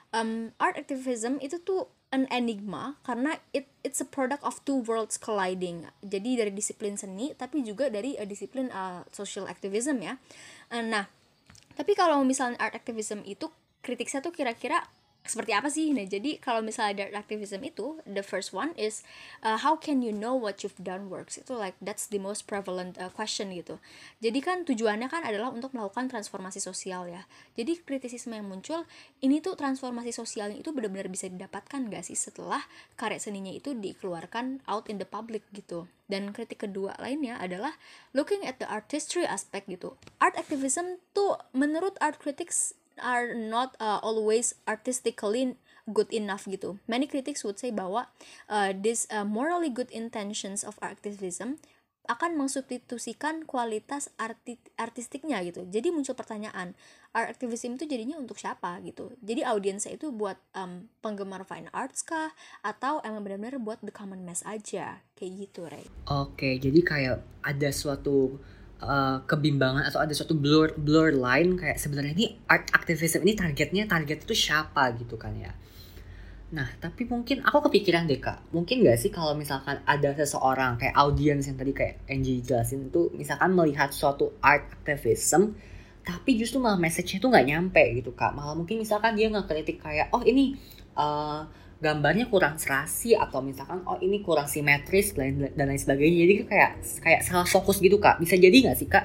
art activism itu tuh an enigma karena it's a product of two worlds colliding. Jadi dari disiplin seni tapi juga dari disiplin social activism ya. Nah, tapi kalau misalnya art activism itu kritiknya tuh kira-kira seperti apa sih? Nah, jadi kalau misalnya art activism itu, the first one is how can you know what you've done works? Itu like that's the most prevalent question gitu. Jadi kan tujuannya kan adalah untuk melakukan transformasi sosial ya. Jadi kritisisme yang muncul ini tuh transformasi sosialnya itu benar-benar bisa didapatkan gak sih setelah karya seninya itu dikeluarkan out in the public gitu. Dan kritik kedua lainnya adalah looking at the artistry aspect gitu. Art activism tuh menurut art critics are not always artistically good enough gitu. Many critics would say bahwa this morally good intentions of activism akan mensubstitusikan kualitas artistiknya gitu. Jadi muncul pertanyaan, art activism itu jadinya untuk siapa gitu. Jadi audiensnya itu buat penggemar fine arts kah atau emang benar-benar buat the common mass aja kayak gitu, Ray. Oke, jadi kayak ada suatu kebimbangan atau ada suatu blur line kayak sebenarnya ini art activism ini target itu siapa gitu kan ya. Nah, tapi mungkin aku kepikiran deh Kak, mungkin gak sih kalau misalkan ada seseorang kayak audiens yang tadi kayak Angie jelasin itu misalkan melihat suatu art activism tapi justru malah message-nya tuh gak nyampe gitu Kak. Malah mungkin misalkan dia ngekritik kayak oh ini gambarnya kurang serasi atau misalkan oh ini kurang simetris dan lain sebagainya. Jadi kayak salah fokus gitu Kak. Bisa jadi nggak sih Kak?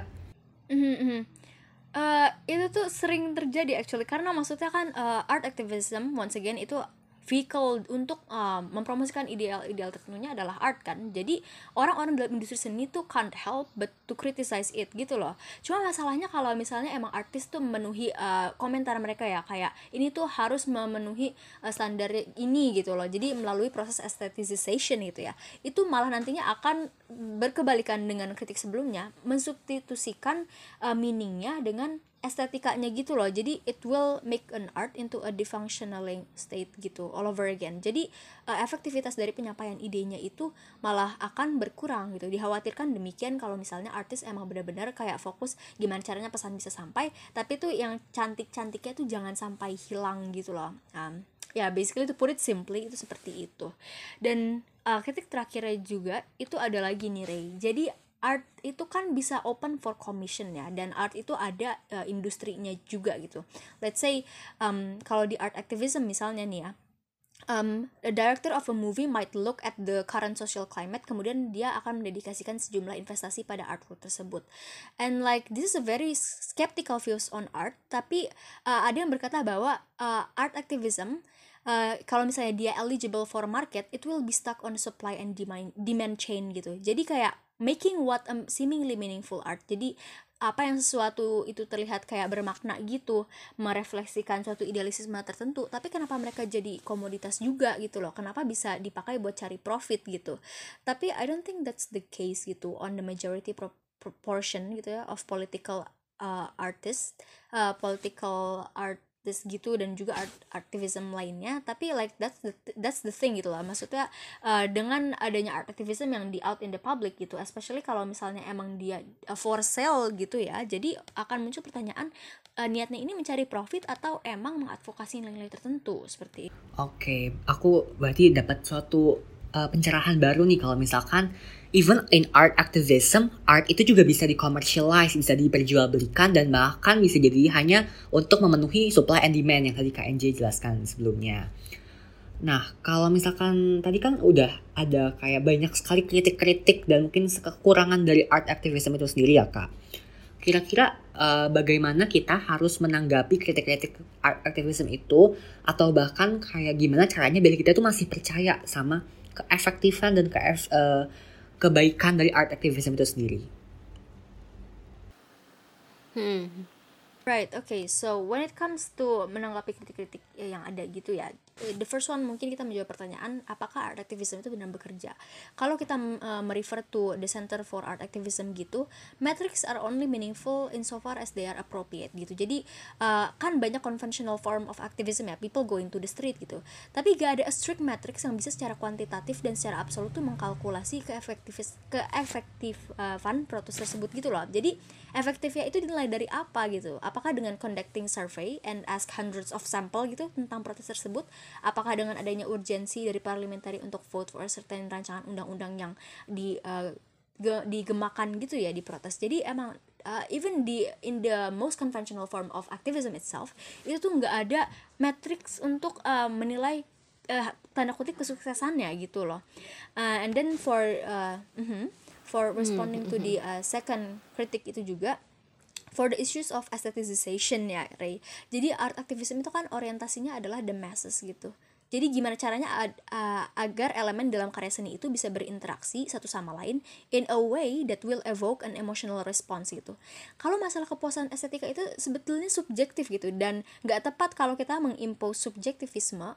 Itu tuh sering terjadi actually karena maksudnya kan art activism once again itu vehicle untuk mempromosikan ideal tertentunya adalah art kan. Jadi orang-orang dalam industri seni tuh can't help but to criticize it gitu loh. Cuma masalahnya kalau misalnya emang artis tuh memenuhi komentar mereka ya kayak ini tuh harus memenuhi standar ini gitu loh. Jadi melalui proses aestheticization gitu ya. Itu malah nantinya akan berkebalikan dengan kritik sebelumnya, mensubstitusikan meaningnya dengan estetikanya gitu loh. Jadi it will make an art into a defunctioning state gitu all over again. Jadi efektivitas dari penyampaian idenya itu malah akan berkurang gitu. Dikhawatirkan demikian kalau misalnya artis emang benar-benar kayak fokus gimana caranya pesan bisa sampai, tapi tuh yang cantik-cantiknya tuh jangan sampai hilang gitu loh. Ya basically to put it simply itu seperti itu. Dan kritik terakhirnya juga itu ada lagi nih Ray. Jadi art itu kan bisa open for commission ya, dan art itu ada industrinya juga gitu. Let's say kalau di art activism misalnya nih ya, a director of a movie might look at the current social climate, kemudian dia akan mendedikasikan sejumlah investasi pada artwork tersebut. And like this is a very skeptical views on art, tapi ada yang berkata bahwa art activism kalau misalnya dia eligible for market, it will be stuck on supply and demand chain gitu. Jadi kayak making what seemingly meaningful art. Jadi apa yang sesuatu itu terlihat kayak bermakna gitu, merefleksikan suatu idealisme tertentu, tapi kenapa mereka jadi komoditas juga gitu loh, kenapa bisa dipakai buat cari profit gitu. Tapi I don't think that's the case gitu on the majority proportion gitu ya of political artists, political artists gitu, dan juga activism lainnya. Tapi like that's the thing gitu lah, maksudnya dengan adanya art activism yang di out in the public gitu, especially kalau misalnya emang dia for sale gitu ya, jadi akan muncul pertanyaan niatnya ini mencari profit atau emang mengadvokasi nilai-nilai tertentu seperti itu. Oke, aku berarti dapat suatu pencerahan baru nih kalau misalkan even in art activism, art itu juga bisa di-commercialize, bisa diperjualbelikan, dan bahkan bisa jadi hanya untuk memenuhi supply and demand yang tadi Kak NJ jelaskan sebelumnya. Nah, kalau misalkan tadi kan udah ada kayak banyak sekali kritik-kritik dan mungkin kekurangan dari art activism itu sendiri ya Kak. Kira-kira bagaimana kita harus menanggapi kritik-kritik art activism itu, atau bahkan kayak gimana caranya biar kita tuh masih percaya sama keefektifan dan kebaikan dari art activism itu sendiri. Right, okay. So when it comes to menanggapi kritik-kritik yang ada gitu ya, the first one mungkin kita menjawab pertanyaan apakah art activism itu benar bekerja. Kalau kita merefer to the Center for Art Activism gitu, metrics are only meaningful insofar as they are appropriate gitu. Jadi kan banyak conventional form of activism ya, people going to the street gitu. Tapi gak ada a strict metrics yang bisa secara kuantitatif dan secara absolut tuh mengkalkulasi keefektifan protes tersebut gitu loh. Jadi efektifnya itu dinilai dari apa gitu? Apakah dengan conducting survey and ask hundreds of sample gitu tentang protes tersebut? Apakah dengan adanya urgensi dari parliamentary untuk vote for a certain rancangan undang-undang yang digemakan gitu ya di protes. Jadi emang even in the most conventional form of activism itself itu tuh nggak ada metrics untuk menilai tanda kutip kesuksesannya gitu loh. And then for responding to the second kritik itu juga, for the issues of aestheticization ya Ray. Jadi art activism itu kan orientasinya adalah the masses gitu. Jadi gimana caranya agar elemen dalam karya seni itu bisa berinteraksi satu sama lain in a way that will evoke an emotional response gitu. Kalau masalah kepuasan estetika itu sebetulnya subjektif gitu, dan nggak tepat kalau kita mengimpose subjektivisme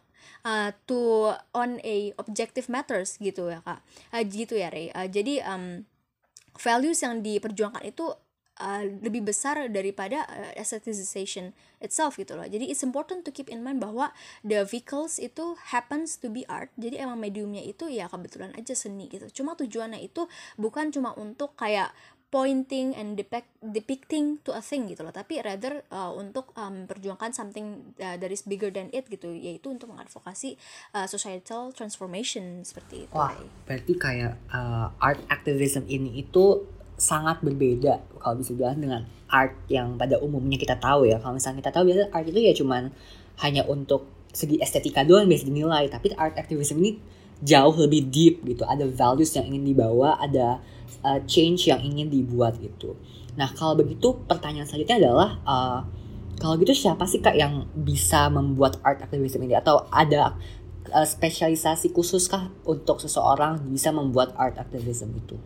on a objective matters gitu ya Kak. Gitu ya Ray. Jadi values yang diperjuangkan itu lebih besar daripada aestheticization itself gitu loh. Jadi it's important to keep in mind bahwa the vehicles itu happens to be art. Jadi emang mediumnya itu ya kebetulan aja seni gitu. Cuma tujuannya itu bukan cuma untuk kayak pointing and depicting to a thing gitu loh, tapi rather untuk memperjuangkan something that is bigger than it gitu, yaitu untuk mengadvokasi societal transformation seperti itu. Wah, berarti kayak art activism ini itu sangat berbeda kalau bisa dibilang dengan art yang pada umumnya kita tahu ya. Kalau misalnya kita tahu biasanya art itu ya cuman hanya untuk segi estetika doang biasa dinilai, tapi art activism ini jauh lebih deep gitu. Ada values yang ingin dibawa, ada change yang ingin dibuat gitu. Nah kalau begitu pertanyaan selanjutnya adalah kalau gitu siapa sih Kak yang bisa membuat art activism ini, atau ada spesialisasi khusus kah untuk seseorang bisa membuat art activism itu?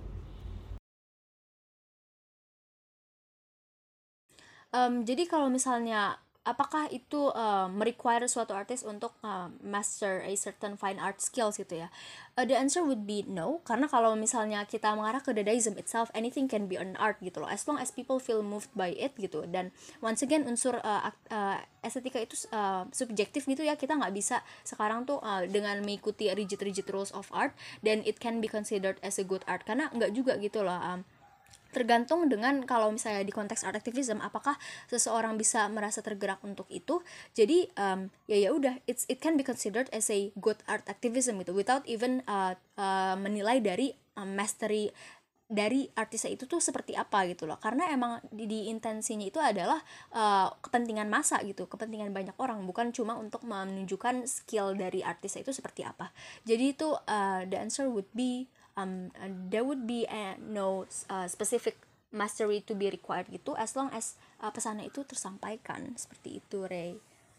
Jadi kalau misalnya apakah itu merequire suatu artis untuk master a certain fine art skills gitu ya? The answer would be no, karena kalau misalnya kita mengarah ke Dadaism itself, anything can be an art gitu loh, as long as people feel moved by it gitu. Dan once again unsur estetika itu subjektif gitu ya, kita nggak bisa sekarang tuh dengan mengikuti rigid rules of art then it can be considered as a good art, karena nggak juga gitu loh. Tergantung dengan kalau misalnya di konteks art activism apakah seseorang bisa merasa tergerak untuk itu. Jadi ya udah, it can be considered as a good art activism gitu, without even menilai dari mastery dari artisnya itu tuh seperti apa gitu loh, karena emang di intensinya itu adalah kepentingan massa gitu, kepentingan banyak orang, bukan cuma untuk menunjukkan skill dari artisnya itu seperti apa. Jadi itu the answer would be there would be no specific mastery to be required gitu, as long as pesannya itu tersampaikan seperti itu, Ray.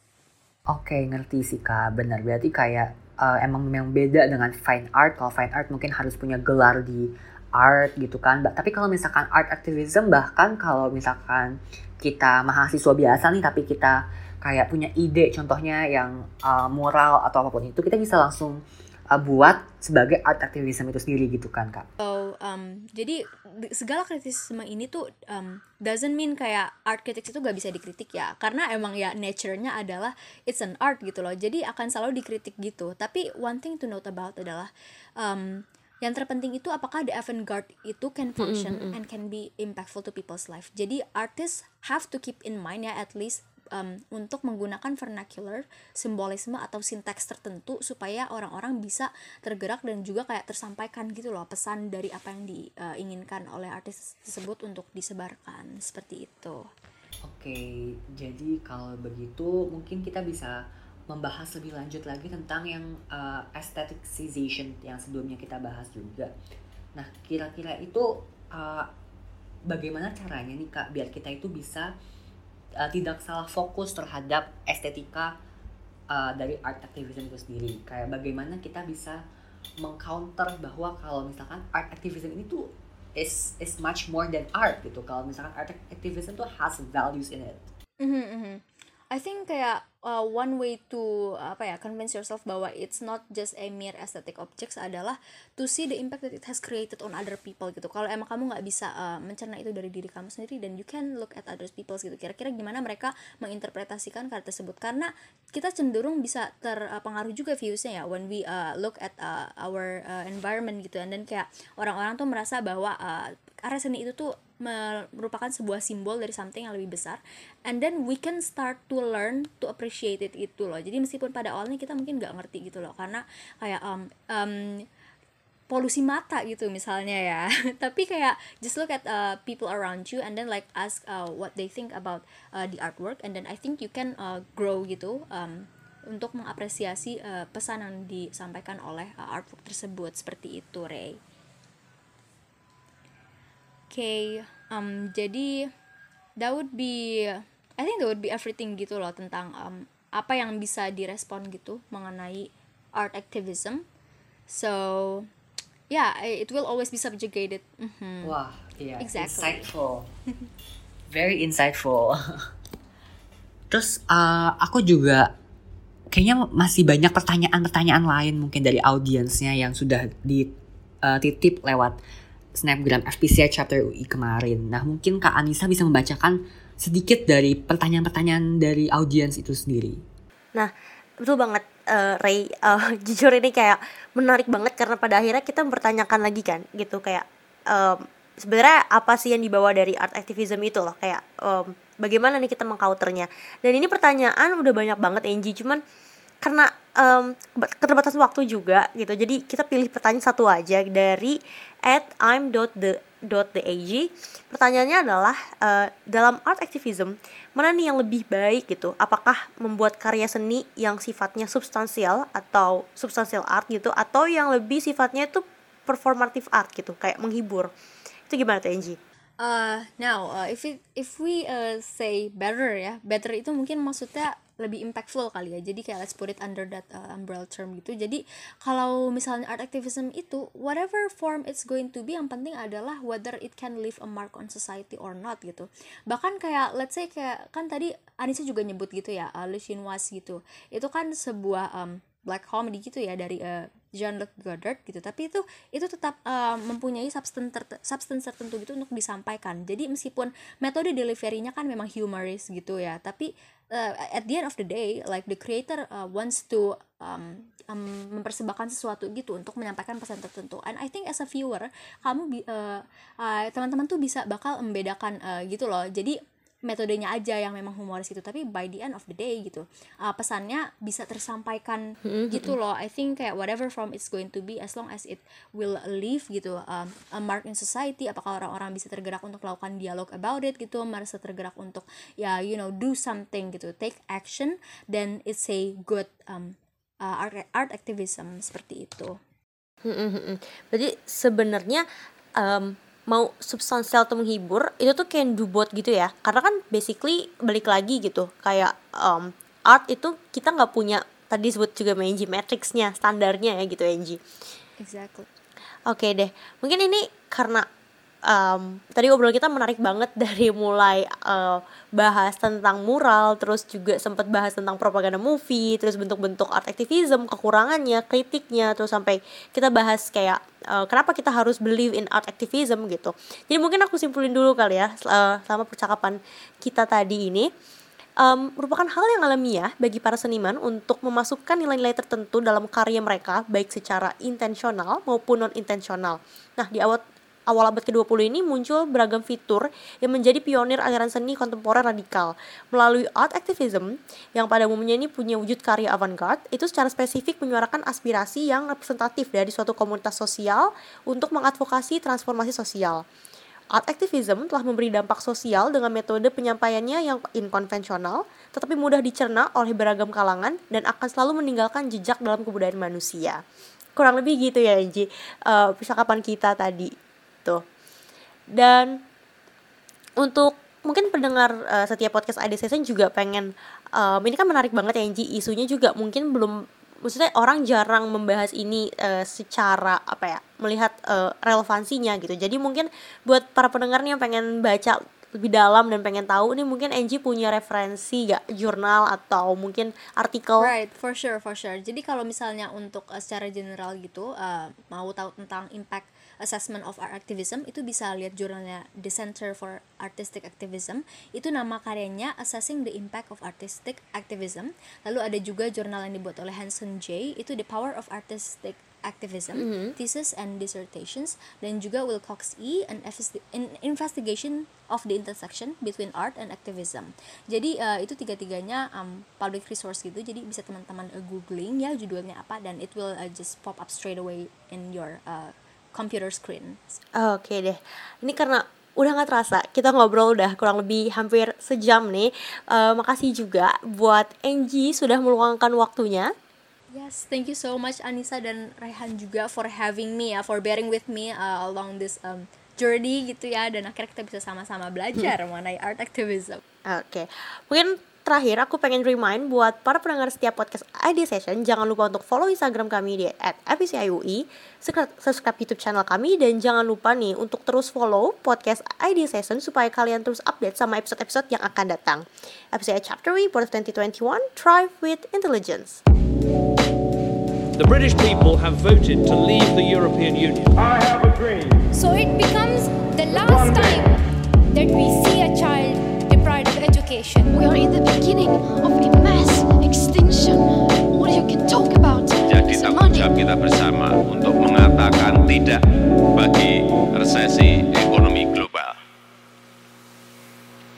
Oke, ngerti sih Kak, benar. Berarti kayak emang yang beda dengan fine art. Kalau fine art mungkin harus punya gelar di art gitu kan. Tapi kalau misalkan art activism, bahkan kalau misalkan kita mahasiswa biasa nih, tapi kita kayak punya ide, contohnya yang moral atau apapun itu, kita bisa langsung buat sebagai art activism itu sendiri gitu kan Kak. So, jadi segala kritisisme ini tuh doesn't mean kayak art critics itu gak bisa dikritik ya, karena emang ya nature-nya adalah it's an art gitu loh, jadi akan selalu dikritik gitu. Tapi one thing to note about adalah yang terpenting itu apakah the avant-garde itu can function and can be impactful to people's life. Jadi artists have to keep in mind ya, at least untuk menggunakan vernacular, simbolisme atau sinteks tertentu supaya orang-orang bisa tergerak dan juga kayak tersampaikan gitu loh pesan dari apa yang diinginkan oleh artis tersebut untuk disebarkan, seperti itu. Oke, jadi kalau begitu mungkin kita bisa membahas lebih lanjut lagi tentang yang aestheticization yang sebelumnya kita bahas juga. Nah, kira-kira itu bagaimana caranya nih Kak biar kita itu bisa tidak salah fokus terhadap estetika dari art activism itu sendiri. Kayak bagaimana kita bisa mengcounter bahwa kalau misalkan art activism ini tuh is much more than art gitu. Kalau misalkan art activism tuh has values in it. I think kayak one way to convince yourself bahwa it's not just a mere aesthetic objects adalah to see the impact that it has created on other people gitu. Kalau emang kamu nggak bisa mencerna itu dari diri kamu sendiri, then you can look at other people gitu. Kira-kira gimana mereka menginterpretasikan karya tersebut, karena kita cenderung bisa terpengaruh juga viewsnya ya when we look at our environment gitu. And then kayak orang-orang tuh merasa bahwa karya seni itu tuh merupakan sebuah simbol dari something yang lebih besar, and then we can start to learn to appreciate it itu loh. Jadi meskipun pada awalnya kita mungkin nggak ngerti gitu loh, karena kayak polusi mata gitu misalnya ya tapi kayak just look at people around you and then like ask what they think about the artwork, and then I think you can grow gitu untuk mengapresiasi pesan yang disampaikan oleh artwork tersebut. Seperti itu, Ray. Jadi that would be, I think that would be everything gitu loh tentang apa yang bisa direspon gitu mengenai art activism. So yeah, it will always be subjugated. Wah, iya, Exactly. insightful. Very insightful. Terus aku juga kayaknya masih banyak pertanyaan-pertanyaan lain mungkin dari audiensnya yang sudah dititip lewat Snapgram FPCI Chapter UI kemarin. Nah, mungkin Kak Anissa bisa membacakan sedikit dari pertanyaan-pertanyaan dari audiens itu sendiri. Nah, betul banget Ray, jujur ini kayak menarik banget karena pada akhirnya kita mempertanyakan lagi kan gitu, kayak sebenarnya apa sih yang dibawa dari art activism itu loh, kayak bagaimana nih kita mengcounternya. Dan ini pertanyaan udah banyak banget Angie, cuman karena keterbatasan waktu juga gitu, jadi kita pilih pertanyaan satu aja dari @im.the.ag. Pertanyaannya adalah dalam art activism mana nih yang lebih baik gitu, apakah membuat karya seni yang sifatnya substansial atau substansial art gitu, atau yang lebih sifatnya itu performative art gitu, kayak menghibur. Itu gimana tuh Angie? If we say better ya, better itu mungkin maksudnya lebih impactful kali ya. Jadi kayak let's put it under that umbrella term gitu. Jadi kalau misalnya art activism itu whatever form it's going to be, yang penting adalah whether it can leave a mark on society or not gitu. Bahkan kayak let's say kayak kan tadi Anissa juga nyebut gitu ya, Le Chinoise gitu. Itu kan sebuah black comedy gitu ya dari Jean-Luc Godard gitu, tapi itu tetap mempunyai substance tertentu gitu untuk disampaikan. Jadi meskipun metode delivery-nya kan memang humorous gitu ya, tapi at the end of the day like the creator wants to mempersembahkan sesuatu gitu untuk menyampaikan pesan tertentu. And I think as a viewer kamu teman-teman tuh bakal membedakan gitu loh. Jadi metodenya aja yang memang humoris gitu, tapi by the end of the day gitu pesannya bisa tersampaikan gitu loh. I think kayak whatever form it's going to be, as long as it will leave gitu a mark in society, apakah orang-orang bisa tergerak untuk melakukan dialog about it gitu, merasa tergerak untuk ya do something gitu, take action, then it's a good art activism. Seperti itu. Berarti sebenarnya mau substansial atau menghibur itu tuh can do both gitu ya, karena kan basically balik lagi gitu, kayak art itu kita nggak punya, tadi disebut juga Angie matrixnya, standarnya ya gitu Angie. Exactly. Oke deh, mungkin ini karena tadi obrolan kita menarik banget dari mulai bahas tentang mural, terus juga sempat bahas tentang propaganda movie, terus bentuk-bentuk art activism, kekurangannya, kritiknya, terus sampai kita bahas kayak kenapa kita harus believe in art activism gitu. Jadi mungkin aku simpulin dulu kali ya selama percakapan kita tadi ini. Merupakan hal yang alamiah bagi para seniman untuk memasukkan nilai-nilai tertentu dalam karya mereka, baik secara intensional maupun non-intensional. Nah, di awal abad ke-20 ini muncul beragam fitur yang menjadi pionir aliran seni kontemporer radikal. Melalui art activism, yang pada umumnya ini punya wujud karya avant-garde, itu secara spesifik menyuarakan aspirasi yang representatif dari suatu komunitas sosial untuk mengadvokasi transformasi sosial. Art activism telah memberi dampak sosial dengan metode penyampaiannya yang inkonvensional, tetapi mudah dicerna oleh beragam kalangan dan akan selalu meninggalkan jejak dalam kebudayaan manusia. Kurang lebih gitu ya Angie, percakapan kita tadi tuh. Dan untuk mungkin pendengar setiap podcast ID Session juga pengen ini kan menarik banget ya Angie, isunya juga mungkin belum, maksudnya orang jarang membahas ini secara melihat relevansinya gitu. Jadi mungkin buat para pendengar nih yang pengen baca lebih dalam dan pengen tahu nih, mungkin Angie punya referensi gak, jurnal atau mungkin artikel? Right, for sure. Jadi kalau misalnya untuk secara general gitu, mau tahu tentang impact assessment of art activism, itu bisa lihat jurnalnya The Center for Artistic Activism. Itu nama karyanya Assessing the Impact of Artistic Activism. Lalu ada juga jurnal yang dibuat oleh Hanson J, itu The Power of Artistic Activism, Thesis and Dissertations. Dan juga Wilcox E, an Investigation of the Intersection Between Art and Activism. Jadi itu tiga-tiganya public resource gitu, jadi bisa teman-teman googling ya judulnya apa, dan it will just pop up straight away in your computer screen. Oke deh, ini karena udah gak terasa kita ngobrol udah kurang lebih hampir sejam nih. Makasih juga buat Angie sudah meluangkan waktunya. Yes, thank you so much Anissa dan Rehan juga for having me ya, for bearing with me along this journey gitu ya, dan akhirnya kita bisa sama-sama belajar mengenai art activism. Oke, mungkin terakhir aku pengen remind buat para pendengar setiap podcast ID Session, jangan lupa untuk follow Instagram kami di @fpciui, subscribe YouTube channel kami, dan jangan lupa nih untuk terus follow podcast ID Session supaya kalian terus update sama episode-episode yang akan datang. FPCIU Chapter Report of 2021, Thrive with Intelligence. The British people have voted to leave the European Union. I have a dream. So it becomes the last time that we see a child deprived of education. We are in the beginning of a mass extinction.